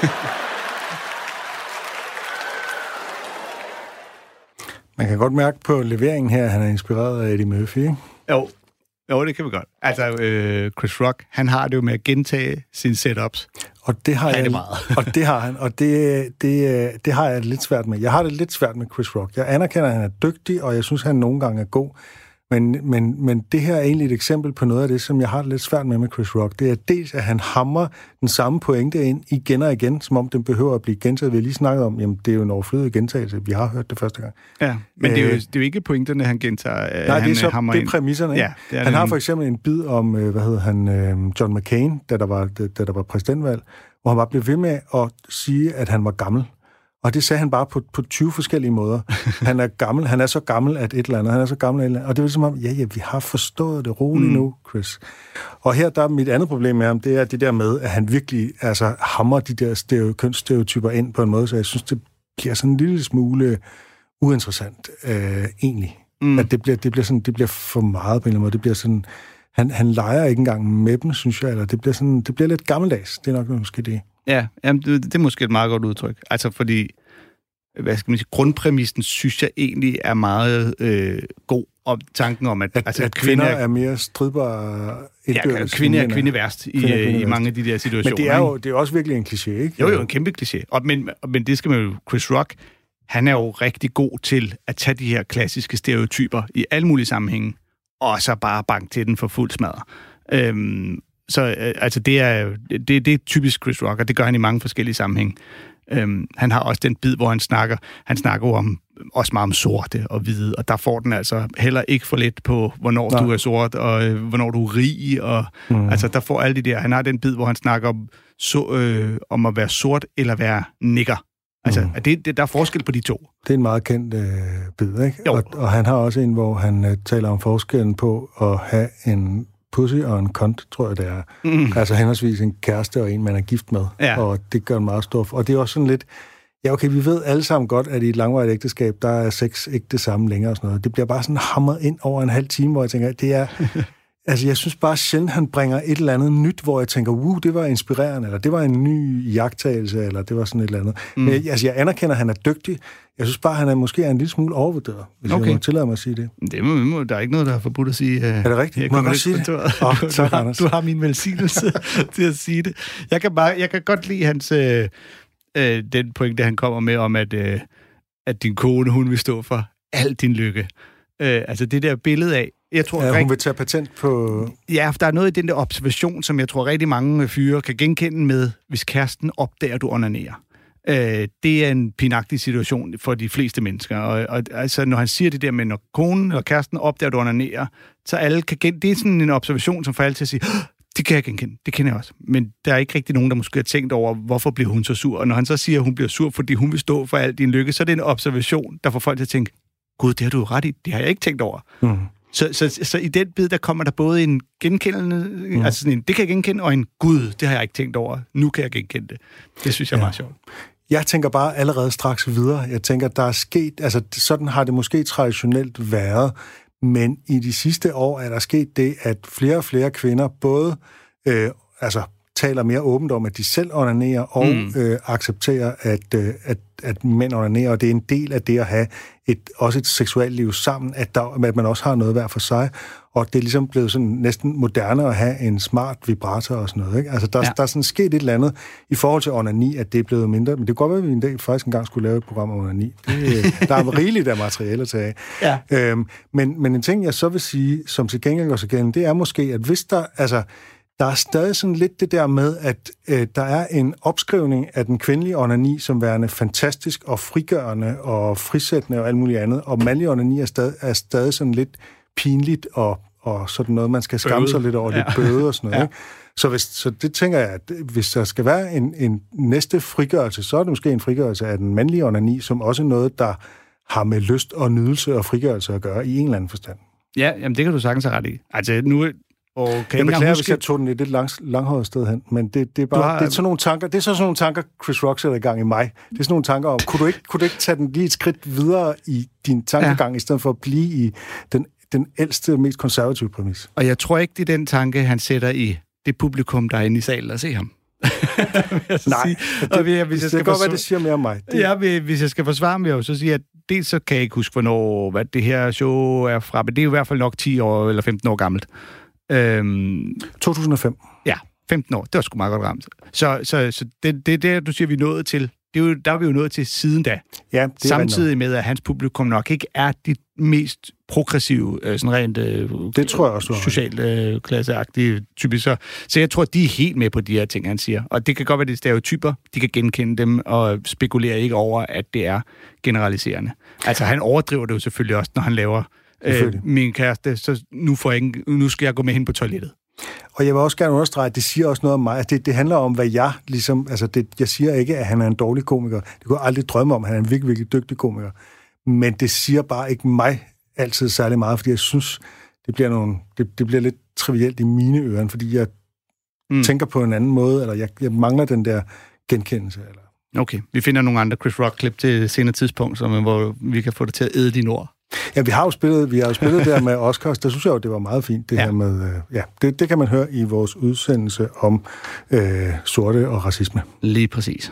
Man kan godt mærke på leveringen her, at han er inspireret af Eddie Murphy, ikke? Jo, jo det kan vi godt. Altså, øh, Chris Rock, han har det jo med at gentage sine setups. Og det har han jeg, det meget. og det har han, og det, det, det har jeg lidt svært med. Jeg har det lidt svært med Chris Rock. Jeg anerkender, at han er dygtig, og jeg synes, han nogle gange er god. Men, men, men det her er egentlig et eksempel på noget af det, som jeg har det lidt svært med med Chris Rock. Det er dels, at han hamrer den samme pointe ind igen og igen, som om den behøver at blive gentaget. Vi har lige snakket om, jamen det er jo en overflødig gentagelse. Vi har hørt det første gang. Ja, men øh, det, er jo, det er jo ikke pointerne, han gentager. Nej, han det er, så, det er præmisserne. Ja, det er han det, har for eksempel en bid om, hvad hedder han, John McCain, da der var, da der var præsidentvalg, hvor han bare blev ved med at sige, at han var gammel. Og det sagde han bare på, på tyve forskellige måder. Han er gammel, han er så gammel, at et eller andet, han er så gammel, at et eller andet. Og det var som om, ja, ja, vi har forstået det roligt mm. nu, Chris. Og her, der er mit andet problem med ham, det er det der med, at han virkelig altså, hamrer de der stereo, kønsstereotyper ind på en måde, så jeg synes, det bliver sådan en lille smule uinteressant, øh, egentlig. Mm. At det bliver, det, bliver sådan, det bliver for meget på en eller anden måde. Det bliver sådan, han, han leger ikke engang med dem, synes jeg, eller det bliver, sådan, det bliver lidt gammeldags. Det er nok måske det. Ja, jamen, det, det er måske et meget godt udtryk. Altså fordi, hvad skal man sige, grundpræmissen synes jeg egentlig er meget øh, god, om tanken om, at, at, altså, at kvinder, kvinder er mere stridbare indbyrdes. Ja, kvinder er kvindeværst i, kvinde kvinde i mange af de der situationer. Men det er jo det er også virkelig en kliché, ikke? Jo, jo, en kæmpe kliché. Og, men, men det skal man jo, Chris Rock, han er jo rigtig god til at tage de her klassiske stereotyper i alle mulige sammenhænge, og så bare banke til den for fuld smadre. Øhm, Så øh, altså det er det, det er typisk Chris Rock, og det gør han i mange forskellige sammenhænge. Øhm, han har også den bid, hvor han snakker, han snakker jo om, også meget om sorte og hvide, og der får den altså heller ikke for lidt på, hvornår Nej. du er sort, og øh, hvornår du er rig, og mm. altså der får alle de der, han har den bid, hvor han snakker om, så, øh, om at være sort eller være nigger. Altså, mm. det, det, der er forskel på de to. Det er en meget kendt øh, bid, ikke? Og, og han har også en, hvor han øh, taler om forskellen på at have en pussy og en kont, tror jeg, det er. Mm. Altså henholdsvis en kæreste og en, man er gift med. Ja. Og det gør en meget stor... Og det er også sådan lidt... Ja, okay, vi ved alle sammen godt, at i et langvarigt ægteskab, der er sex ikke det samme længere og sådan noget. Det bliver bare sådan hamret ind over en halv time, hvor jeg tænker, det er... altså, jeg synes bare sjældent, han bringer et eller andet nyt, hvor jeg tænker, wow, det var inspirerende, eller det var en ny jagttagelse, eller det var sådan et eller andet. Mm. Men altså, jeg anerkender, at han er dygtig. Jeg synes bare, han er måske er en lille smule overvurderet, hvis okay. jeg må tillade mig at sige det. Det må, må, der er ikke noget, der er forbudt at sige. Er det rigtigt? Må jeg godt sige det? Oh, du, tak, du, har, du har min velsignelse til at sige det. Jeg kan, bare, jeg kan godt lide hans, øh, øh, den pointe, han kommer med om, at, øh, at din kone, hun vil stå for al din lykke. Øh, altså det der billede af, jeg tror, ja, hun rigt... vil tage patent på... Ja, for der er noget i den der observation, som jeg tror rigtig mange fyre kan genkende med, hvis kæresten opdager, du onanerer. Øh, det er en pinagtig situation for de fleste mennesker. Og, og altså, når han siger det der med, når konen eller kæresten opdager, du onanerer, så alle kan gen... Det er sådan en observation, som får alle til at sige, det kan jeg genkende, det kender jeg også. Men der er ikke rigtig nogen, der måske har tænkt over, hvorfor bliver hun så sur. Og når han så siger, at hun bliver sur, fordi hun vil stå for al din lykke, så er det en observation, der får folk til at tænke, gud, det har du ret i, det har jeg ikke tænkt over. Mm. Så, så, så i den bid, der kommer der både en genkendende, mm. altså sådan en, det kan jeg genkende, og en, gud, det har jeg ikke tænkt over, nu kan jeg genkende det. Det synes jeg er ja. meget sjovt. Jeg tænker bare allerede straks videre. Jeg tænker, der er sket, altså sådan har det måske traditionelt været, men i de sidste år er der sket det, at flere og flere kvinder både øh, altså, taler mere åbent om, at de selv onanerer, og mm. øh, accepterer, at, øh, at, at mænd onanerer, og det er en del af det at have et, også et seksuelt liv sammen, at, der, at man også har noget hver for sig, og det er ligesom blevet sådan næsten moderne at have en smart vibrator og sådan noget, ikke? Altså, der, ja. der er sådan sket et eller andet i forhold til onani, at det er blevet mindre, men det kunne godt være, at vi en dag faktisk engang skulle lave et program om onani. Det, der er rigeligt af materiale at tage af. Ja. Øhm, men, men en ting, jeg så vil sige, som til gengæld også igen, det er måske, at hvis der, altså, der er stadig sådan lidt det der med, at øh, der er en opskrivning af den kvindelige onani som værende fantastisk og frigørende og frisættende og alt muligt andet, og mandlig onani er stadig, er stadig sådan lidt pinligt og, og sådan noget, man skal skamme sig lidt over, ja. lidt bøde og sådan noget. Ja. Ikke? Så, hvis, så det tænker jeg, at hvis der skal være en, en næste frigørelse, så er det måske en frigørelse af den mandlige onani, som også er noget, der har med lyst og nydelse og frigørelse at gøre i en eller anden forstand. Ja, jamen det kan du sagtens have ret i. Altså nu... Og kan jeg beklager, huske... hvis jeg tog den et lidt lang, langhåret sted hen, men det, det er bare har... det er sådan nogle tanker, det er så sådan nogle tanker, Chris Rock sætter i gang i mig. Det er sådan nogle tanker om, kunne du ikke, kunne du ikke tage den lige et skridt videre i din tankegang, ja. i stedet for at blive i den, den ældste, mest konservative præmis? Og jeg tror ikke, det er den tanke, han sætter i det publikum, der er inde i salen og se ham. Nej, det, og hvis jeg skal det kan godt være, det siger mere om mig. Det... Ja, hvis jeg skal forsvare mig, jo, så siger jeg, at dels så kan jeg ikke huske, hvornår hvad det her show er fra, men det er jo i hvert fald nok ti år eller femten år gammelt. Øhm, to tusind og fem. Ja, femten år. Det var sgu meget godt ramt. Så, så, så det, det er der, du siger, vi er nået til det er jo, der er vi jo nået til siden da. Ja, det samtidig med, at hans publikum nok ikke er de mest progressive, sådan rent det tror jeg også, socialt øh, klasseagtige typisk. Så, så jeg tror, de er helt med på de her ting, han siger. Og det kan godt være, det er stereotyper. De kan genkende dem og spekulere ikke over, at det er generaliserende. Altså, han overdriver det jo selvfølgelig også, når han laver øh, min kæreste, så nu, får jeg ikke, nu skal jeg gå med hen på toilettet. Og jeg vil også gerne understrege, at det siger også noget om mig. Det, det handler om, hvad jeg ligesom... Altså, det, jeg siger ikke, at han er en dårlig komiker. Det kunne jeg aldrig drømme om. Han er en virkelig, virkelig dygtig komiker. Men det siger bare ikke mig altid særlig meget, fordi jeg synes, det bliver, nogle, det, det bliver lidt trivielt i mine ører, fordi jeg mm. tænker på en anden måde, eller jeg, jeg mangler den der genkendelse. Eller... Okay, vi finder nogle andre Chris Rock-klip til senere tidspunkt, som, hvor vi kan få det til at æde dine ord. Ja, vi har jo spillet, vi har jo spillet der med Oscars. Der synes jeg jo, det var meget fint, det ja. her med... Øh, ja, det, det kan man høre i vores udsendelse om øh, sorte og racisme. Lige præcis.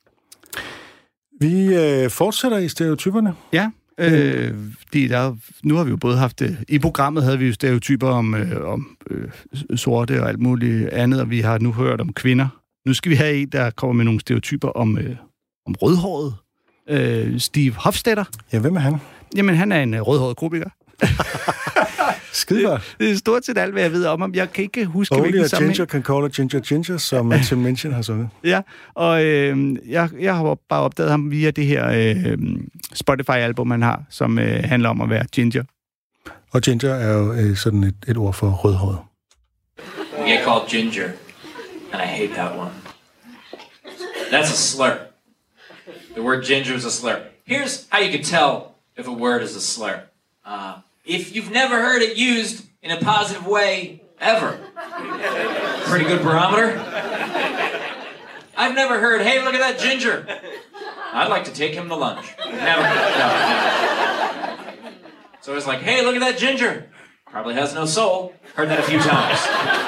Vi øh, fortsætter i stereotyperne. Ja, øh, de der, nu har vi jo både haft... I programmet havde vi jo stereotyper om, øh, om øh, sorte og alt muligt andet, og vi har nu hørt om kvinder. Nu skal vi have en, der kommer med nogle stereotyper om, øh, om rødhåret. Øh, Steve Hofstetter. Ja, hvem er han? Jamen, han er en uh, rødhåret komiker. Skide det, det er stort set alt, hvad jeg ved om ham. Jeg kan ikke huske, Only hvilken a sammenhæng. ginger can call a ginger ginger, som Tim Minchin har sunget. Ja, og øh, jeg, jeg har bare opdaget ham via det her øh, Spotify-album, han har, som øh, handler om at være ginger. Og ginger er jo øh, sådan et, et ord for rødhåret. You get called ginger, and I hate that one. That's a slur. The word ginger is a slur. Here's how you can tell if a word is a slur. Uh, if you've never heard it used in a positive way, ever. Pretty good barometer. I've never heard, hey, look at that ginger. I'd like to take him to lunch. Never. No, never. So it's like, hey, look at that ginger. Probably has no soul. Heard that a few times.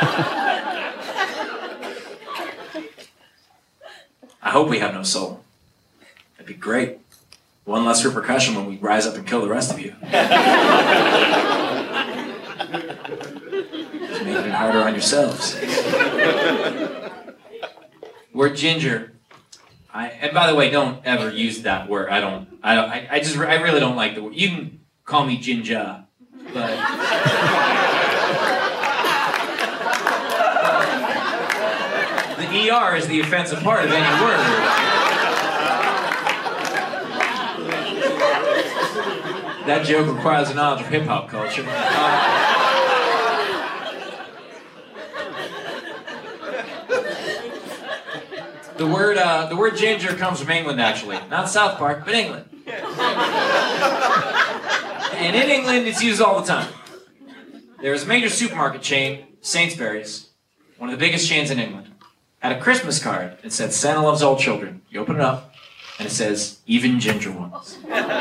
I hope we have no soul. That'd be great. One less repercussion when we rise up and kill the rest of you. Just making it harder on yourselves. Word ginger. I, and by the way, don't ever use that word. I don't. I don't. I, I just. I really don't like the word. You can call me ginger, but the E R is the offensive part of any word. That joke requires a knowledge of hip-hop culture. Uh, the word uh, the word ginger comes from England, actually. Not South Park, but England. And in England, it's used all the time. There's a major supermarket chain, Sainsbury's, one of the biggest chains in England, had a Christmas card that said, Santa loves all children. You open it up, and it says, even ginger ones.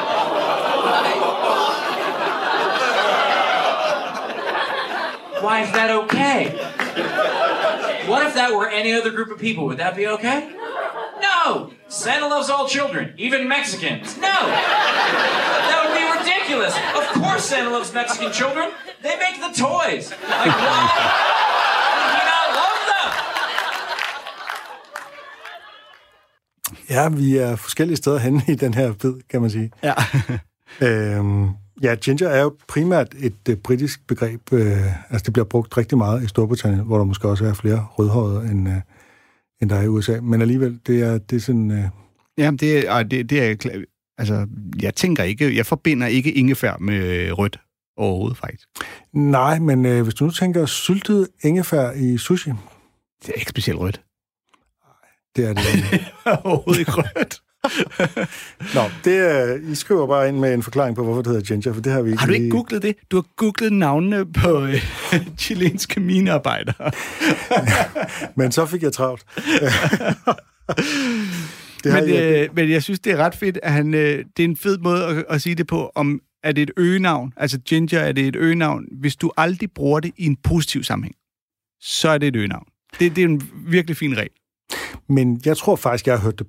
Why is that okay? What if that were any other group of people? Would that be okay? No! Santa loves all children, even Mexicans. No! That would be ridiculous. Of course Santa loves Mexican children. They make the toys. Like, why would he not love them? Ja, vi er forskellige steder henne i den her bid, kan man sige. Ja. øhm, ja, ginger er jo primært et uh, britisk begreb. Uh, altså, det bliver brugt rigtig meget i Storbritannien, hvor der måske også er flere rødhårede, end, uh, end der er i U S A. Men alligevel, det er, det er sådan... Uh... Jamen, det er... Det, det er altså, jeg tænker ikke... Jeg forbinder ikke ingefær med rødt overhovedet, faktisk. Nej, men uh, hvis du nu tænker syltet ingefær i sushi... Det er ikke specielt rødt. Det er det. Overhovedet ikke rødt. Nå, det er, I skriver bare ind med en forklaring på, hvorfor det hedder ginger, for det har vi ikke... Har du ikke googlet det? Du har googlet navnene på øh, chilenske minearbejdere. Men så fik jeg travlt. det men, jeg... Øh, men jeg synes, det er ret fedt, at han... Øh, det er en fed måde at, at sige det på, om er det et øgenavn, altså ginger, er det et øgenavn. Hvis du aldrig bruger det i en positiv sammenhæng, så er det et øgenavn. Det, det er en virkelig fin regel. Men jeg tror faktisk, jeg har hørt det brugt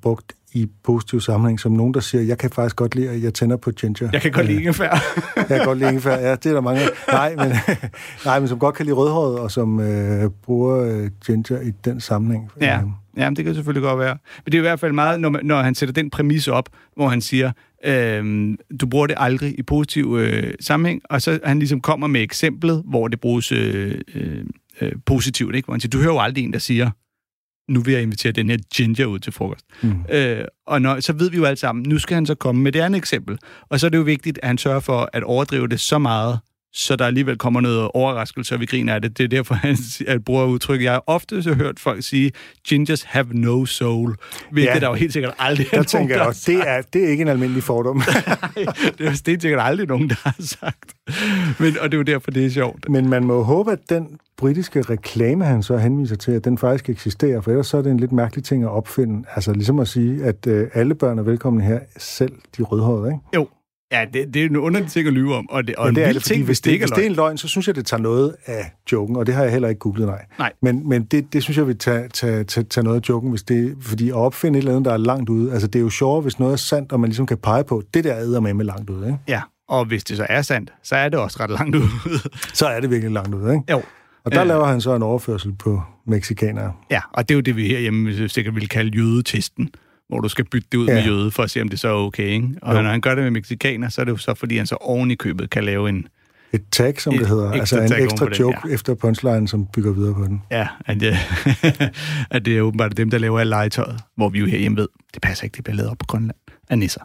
i positiv sammenhæng, som nogen, der siger, jeg kan faktisk godt lide, at jeg tænder på ginger. Jeg kan godt lide ingefær. Jeg kan godt lide ingefær, ja, det er der mange. Nej, men, nej, men som godt kan lide rødhåret, og som øh, bruger øh, ginger i den sammenhæng. Ja. Ja, det kan selvfølgelig godt være. Men det er i hvert fald meget, når, man, når han sætter den præmis op, hvor han siger, øh, du bruger det aldrig i positiv øh, sammenhæng, og så han ligesom kommer med eksemplet, hvor det bruges øh, øh, positivt, ikke? Hvor han siger, du hører jo aldrig en, der siger, nu vil jeg invitere den her ginger ud til frokost. Mm. Øh, og når, så ved vi jo alle sammen, nu skal han så komme med det andet eksempel. Og så er det jo vigtigt, at han sørger for at overdrive det så meget, så der alligevel kommer noget overraskelse, og vi griner af det. Det er derfor, han at bruger udtryk. Jeg har ofte så hørt folk sige, gingers have no soul, hvilket ja, der jo helt sikkert aldrig er nogen, tænker jeg også, det er, det er ikke en almindelig fordom. Nej, det er helt sikkert aldrig nogen, der har sagt. Men, og det er jo derfor, det er sjovt. Men man må håbe, at den britiske reklame, han så henviser til, at den faktisk eksisterer, for ellers så er det en lidt mærkelig ting at opfinde. Altså ligesom at sige, at øh, alle børn er velkomne her, selv de rødhårede, ikke? Jo. Ja, det, det er en underlig ting at lyve om, og det, og ja, en det er vild det, ting, hvis det, hvis det er en løgn, så synes jeg, det tager noget af joken, og det har jeg heller ikke googlet, nej. nej. Men, men det, det synes jeg vil tage, tage, tage, tage noget af joken, hvis det, fordi at opfinde et eller andet, der er langt ude, altså det er jo sjovere, hvis noget er sandt, og man ligesom kan pege på, det der æder med med langt ude, ikke? Ja, og hvis det så er sandt, så er det også ret langt ude. Så er det virkelig langt ude, ikke? Jo. Og der øh, laver han så en overførsel på mexikanere. Ja, og det er jo det, vi herhjemme sikkert vil kalde jødetesten, hvor du skal bytte det ud ja. med jøde, for at se, om det så er okay, ikke? Og jo. Når han gør det med mexikaner, så er det jo så, fordi han så oven i købet kan lave en... Et tag, som et, det hedder. Altså en ekstra joke den, ja. efter punchline, som bygger videre på den. Ja, at, ja, at det er åbenbart dem, der laver alt legetøjet, hvor vi jo herhjemme ved, det passer ikke, det bliver lavet op på Grønland af nisser.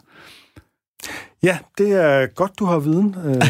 Ja, det er godt, du har viden.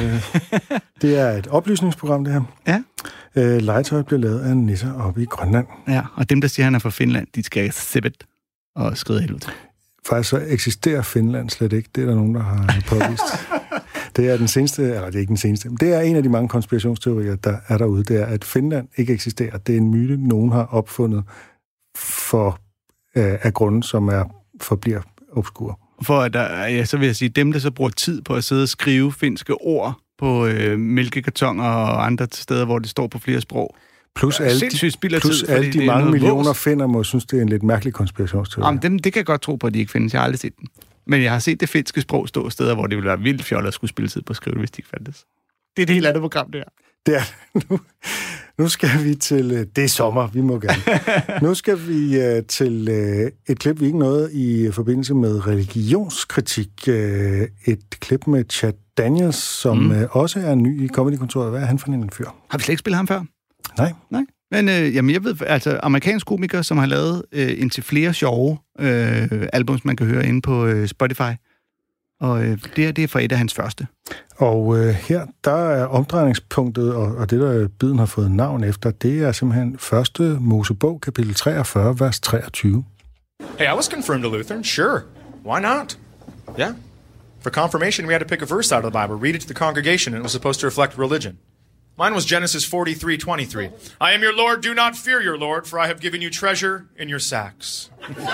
Det er et oplysningsprogram, det her. Ja. Legetøjet bliver lavet af nisser oppe i Grønland. Ja, og dem, der siger, at han er fra Finland, de skal sibbet og skride helvede til. Faktisk så eksisterer Finland slet ikke. Det er der nogen, der har påvist. Det er den seneste, eller det er ikke den seneste, men det er en af de mange konspirationsteorier, der er derude. Det er, at Finland ikke eksisterer. Det er en myte, nogen har opfundet for, øh, af grunde, som er forbliver obskur. For at der, ja, så vil jeg sige, dem, der så bruger tid på at sidde og skrive finske ord på øh, mælkekartoner og andre steder, hvor det står på flere sprog. Plus alle de, plus tid, alle de mange millioner finder må synes, det er en lidt mærkelig konspirationsteori. Jamen, dem, det kan jeg godt tro på, at de ikke findes. Jeg har aldrig set den. Men jeg har set det finske sprog stå steder, hvor det ville være vildt fjollet at skulle spille tid på at skrive det, hvis de ikke fandtes. Det er det helt andet program, det her. Det er nu, nu skal vi til... Det er sommer, vi må gerne. Nu skal vi uh, til uh, et klip, vi ikke nåede i forbindelse med religionskritik. Uh, et klip med Chad Daniels, som mm. uh, også er ny i Comedy-kontoret. Hvad er han for en fyr? Har vi slet ikke spillet ham før? Nej. Nej. Men øh, jamen, jeg ved, altså amerikansk komiker, som har lavet øh, indtil flere sjove øh, albums, man kan høre inde på øh, Spotify. Og øh, det, er, det er fra et af hans første. Og øh, her, der er omdrejningspunktet, og, og det, der biden har fået navn efter, det er simpelthen første Mosebog, kapitel treogfyrre, vers treogtyve. Hey, I was confirmed a Lutheran, sure. Why not? Yeah. For confirmation, we had to pick a verse out of the Bible, read it to the congregation, and it was supposed to reflect religion. Mine was Genesis forty-three twenty-three. I am your Lord, do not fear your Lord, for I have given you treasure in your sacks.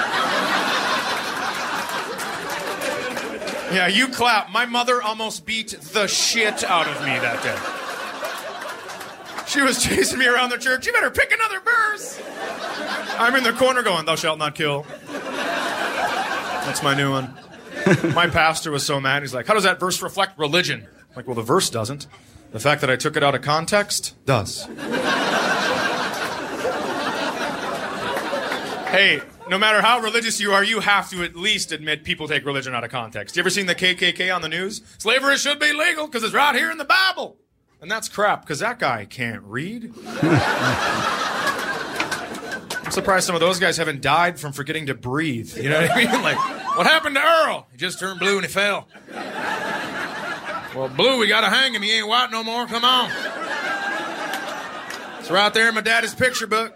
Yeah, you clap. My mother almost beat the shit out of me that day. She was chasing me around the church. You better pick another verse. I'm in the corner going, thou shalt not kill. That's my new one. My pastor was so mad. He's like, how does that verse reflect religion? I'm like, well, the verse doesn't. The fact that I took it out of context does. Hey, no matter how religious you are, you have to at least admit people take religion out of context. You ever seen the K K K on the news? Slavery should be legal because it's right here in the Bible. And that's crap, because that guy can't read. I'm surprised some of those guys haven't died from forgetting to breathe. You know what I mean? Like, what happened to Earl? He just turned blue and he fell. Well, Blue, we gotta hang him. He ain't white no more. Come on. It's right there in my daddy's picture book.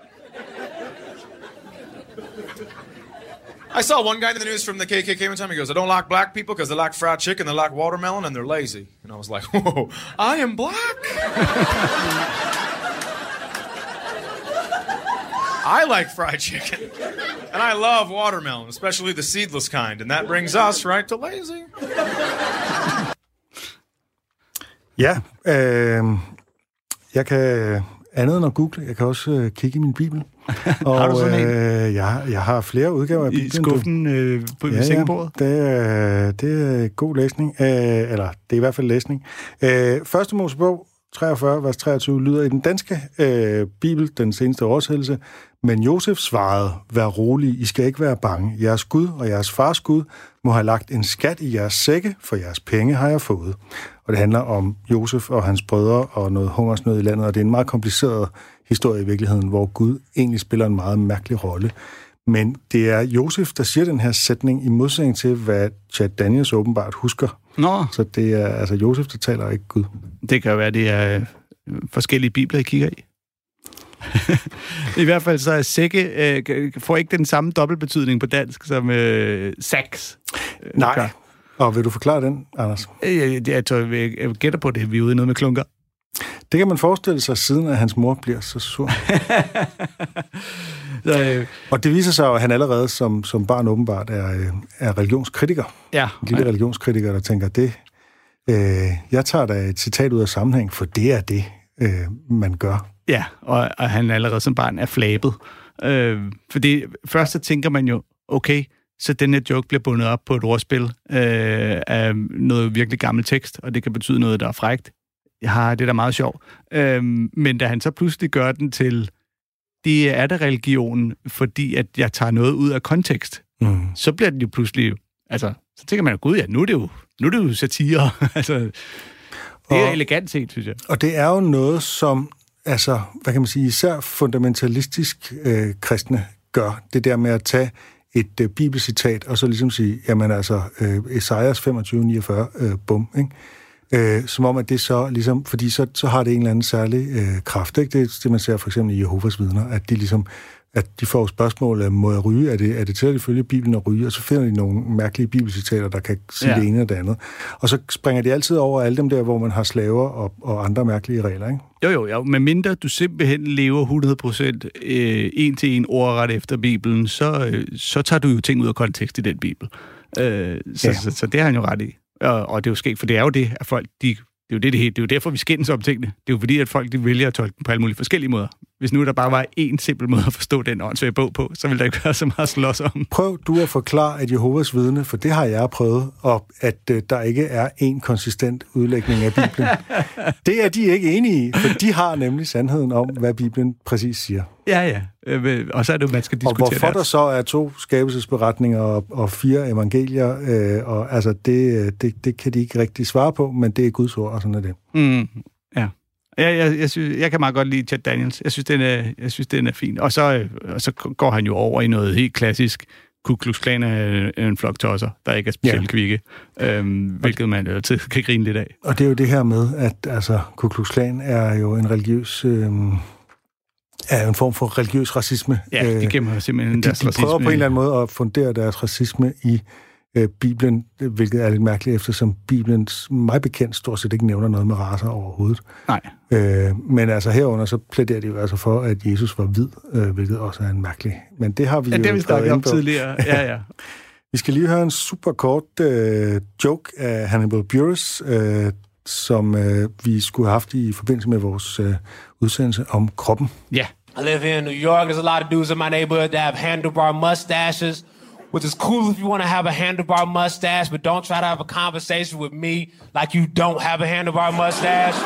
I saw one guy in the news from the K K K one time. He goes, I don't like black people because they like fried chicken, they like watermelon, and they're lazy. And I was like, whoa, I am black? I like fried chicken. And I love watermelon, especially the seedless kind. And that brings us right to lazy. Ja, øh, jeg kan andet end at google. Jeg kan også øh, kigge i min bibel. Og, har du sådan en? Øh, jeg, jeg har flere udgaver af Bibelen. I skuffen øh, på ja, sengebordet? Ja, det, er, det er god læsning. Øh, eller, det er i hvert fald læsning. Øh, Første Mosebog, treogfyrre, vers treogtyve, lyder i den danske øh, bibel, den seneste oversættelse, men Josef svarede, vær rolig, I skal ikke være bange. Jeres Gud og jeres fars Gud må have lagt en skat i jeres sække, for jeres penge har jeg fået. Og det handler om Josef og hans brødre og noget hungersnød i landet, og det er en meget kompliceret historie i virkeligheden, hvor Gud egentlig spiller en meget mærkelig rolle. Men det er Josef, der siger den her sætning i modsætning til, hvad Chad Daniels åbenbart husker. Nå. Så det er altså Josef, der taler, ikke Gud. Det kan jo være, det er forskellige bibler, I kigger i. I hvert fald så er sække, øh, får ikke den samme dobbeltbetydning på dansk som øh, sax. Nej. Klar. Og vil du forklare den, Anders? Jeg, jeg, tror, jeg, jeg gætter på det. Vi er ude i noget med klunker. Det kan man forestille sig, siden at hans mor bliver så sur. så, øh, og det viser sig jo, at han allerede som, som barn åbenbart er, er religionskritiker. Ja. En lille religionskritiker, der tænker, det, øh, jeg tager da et citat ud af sammenhæng, for det er det, øh, man gør. Ja, og, og han allerede som barn er flabet. Øh, fordi først så tænker man jo, okay, så den her joke bliver bundet op på et ordspil øh, af noget virkelig gammel tekst, og det kan betyde noget, der er frækt. Ja, det er da meget sjovt. Øhm, men da han så pludselig gør den til, det er da religionen, fordi at jeg tager noget ud af kontekst, mm. så bliver den jo pludselig, altså, så tænker man jo, gud ja, nu er det jo, nu er det jo satire. altså, det er og, elegant set, synes jeg. Og det er jo noget, som, altså, hvad kan man sige, især fundamentalistisk øh, kristne gør, det der med at tage et øh, bibelcitat, og så ligesom sige, jamen altså, øh, Esajas femogtyve niogfyrre, øh, bum, ikke? Øh, som om, at det så ligesom, fordi så, så har det en eller anden særlig øh, kraft, ikke? Det er det, man ser for eksempel i Jehovas vidner, at de ligesom, at de får spørgsmål, må jeg ryge? Er det, er det til at følge Bibelen at ryge? Og så finder de nogle mærkelige bibelcitater, der kan sige ja. det ene og det andet. Og så springer de altid over alle dem der, hvor man har slaver og, og andre mærkelige regler, ikke? Jo, jo, jo. Men mindre du simpelthen lever hundrede procent øh, en til en ordret efter Bibelen, så, øh, så tager du jo ting ud af kontekst i den Bibel. Øh, så, ja. så, så, så det har han jo ret i. Og, og det er jo sket, for det er jo det, at folk, de, det er jo det, det, det er jo derfor, vi skændes om tingene. Det er jo fordi, at folk, de vælger at tolke dem på alle mulige forskellige måder. Hvis nu der bare var én simpel måde at forstå den åndssvage bog på, så ville der ikke være så meget slås om. Prøv du at forklare, at Jehovas vidne, for det har jeg prøvet, og at øh, der ikke er en konsistent udlægning af Bibelen. Det er de ikke enige i, for de har nemlig sandheden om, hvad Bibelen præcis siger. Ja, ja. Øh, og så er det jo, man skal diskutere. Og hvorfor der så er to skabelsesberetninger og, og fire evangelier, øh, og altså det, det, det kan de ikke rigtig svare på, men det er Guds ord, og sådan er det. Mm, ja. Jeg, jeg, jeg, synes, jeg kan meget godt lide Chad Daniels. Jeg synes, den er, jeg synes, den er fin. Og så, og så går han jo over i noget helt klassisk. Ku Klux Klan er en flok tosser, der ikke er specielt ja. kvikke, øhm, hvilket man altid kan grine lidt af. Og det er jo det her med, at altså, Ku Klux Klan er jo en religiøs... Øhm, er en form for religiøs racisme. Ja, de gemmer simpelthen de, deres de racisme. De prøver på en eller anden måde at fundere deres racisme i øh, Bibelen, hvilket er lidt mærkeligt, eftersom Bibelen, mig bekendt, stort set ikke nævner noget med racer overhovedet. Nej. Øh, men altså herunder, så plæderer de jo altså for, at Jesus var hvid, øh, hvilket også er en mærkelig. Men det har vi ja, jo... det har vi snakket om tidligere. Ja, ja. Vi skal lige høre en super kort øh, joke af Hannibal Buress, øh, som øh, vi skulle have haft i forbindelse med vores øh, udsendelse om kroppen. Ja. Yeah. I live here in New York. There's a lot of dudes in my neighborhood that have handlebar mustaches, which is cool if you want to have a handlebar mustache, but don't try to have a conversation with me like you don't have a handlebar mustache.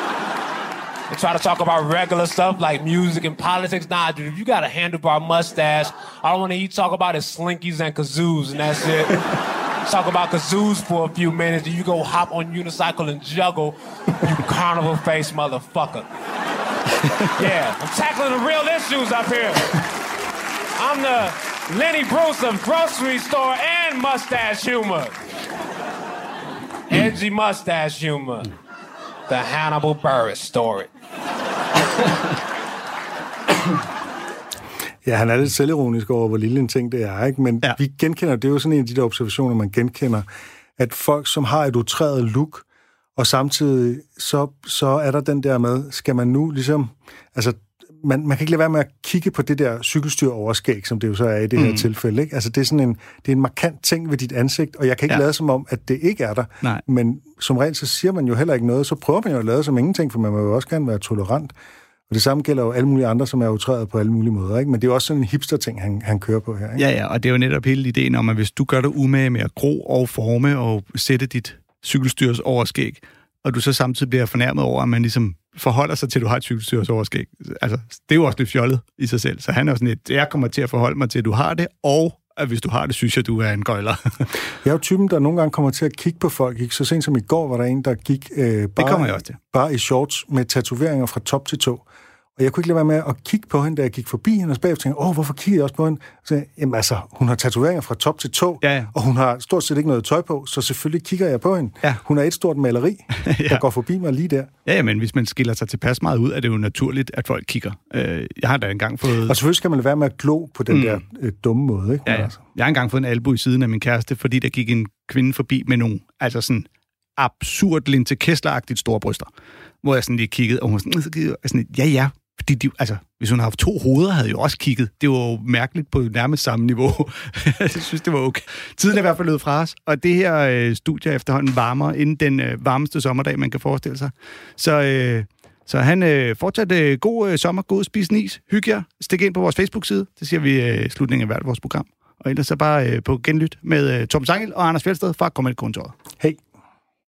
And try to talk about regular stuff like music and politics. Nah, dude, if you got a handlebar mustache, I don't want to hear you talk about is slinkies and kazoos, and that's it. Talk about kazoos for a few minutes, and you go hop on unicycle and juggle, you carnival face motherfucker. Yeah, I'm tackling the real issues up here. I'm the Lenny Bruce of grocery store and mustache humor. Edgy mustache humor. The Hannibal Buress story. Ja, han er lidt selvironisk over, hvor lille en ting det er, ikke? Men ja. vi genkender, det er jo sådan en af de der observationer, man genkender, at folk, som har et utræret look, og samtidig så, så er der den der med, skal man nu ligesom, altså, man, man kan ikke lade være med at kigge på det der cykelstyr overskæg, som det jo så er i det her mm. tilfælde, ikke? Altså, det er sådan en, det er en markant ting ved dit ansigt, og jeg kan ikke ja. lade som om, at det ikke er der. Nej. Men som regel, så siger man jo heller ikke noget, så prøver man jo at lade som ingenting, for man må jo også gerne være tolerant. Og det samme gælder jo alle mulige andre, som er utrædet på alle mulige måder, ikke? Men det er jo også sådan en hipster-ting, han, han kører på her, ikke? Ja, ja, og det er jo netop hele ideen om, at hvis du gør dig umage med at gro og forme og sætte dit cykelstyrs overskæg, og du så samtidig bliver fornærmet over, at man ligesom forholder sig til, at du har et cykelstyrs overskæg. Altså, det er jo også lidt fjollet i sig selv. Så han er jo sådan et, jeg kommer til at forholde mig til, at du har det, og at hvis du har det, synes jeg, du er en gøjler. Jeg er jo typen, der nogle gange kommer til at kigge på folk. Ikke? Så sent som i går var der en, der gik øh, bare, det kommer jeg også til. bare i shorts med tatoveringer fra top til tå. Og jeg kunne ikke lade være med at kigge på hende, da jeg gik forbi hende, og så bagefter tænkte, åh, hvorfor kigger jeg også på hende? Så jeg, jamen altså, hun har tatoveringer fra top til tå, ja, ja. Og hun har stort set ikke noget tøj på, så selvfølgelig kigger jeg på hende. Ja. Hun er et stort maleri, ja. der går forbi mig lige der. Ja, ja, men hvis man skiller sig tilpas meget ud, er det jo naturligt, at folk kigger. Øh, jeg har da engang fået... Og selvfølgelig skal man lade være med at glo på den mm. der øh, dumme måde, ikke? Ja, ja. Jeg har engang fået en albu i siden af min kæreste, fordi der gik en kvinde forbi med nogle, altså sådan absurd Linse Kessler-agtigt store bryster, hvor jeg sådan lige kiggede, og hun sådan, sådan ja, ja, fordi de, altså, hvis hun havde haft to hoveder, havde jeg jo også kigget. Det var jo mærkeligt på nærmest samme niveau. Jeg synes, det var okay. Tiden er i hvert fald løbet fra os, og det her øh, studie efterhånden varmer inden den øh, varmeste sommerdag, man kan forestille sig. Så, øh, så han øh, fortsat øh, god øh, sommer, god spis is, hygge jer, stik ind på vores Facebook-side, det siger vi øh, i slutningen af hvert vores program. Og ellers så bare øh, på genlyt med øh, Torben Sangel og Anders Fjeldsted fra Comedy-kontoret.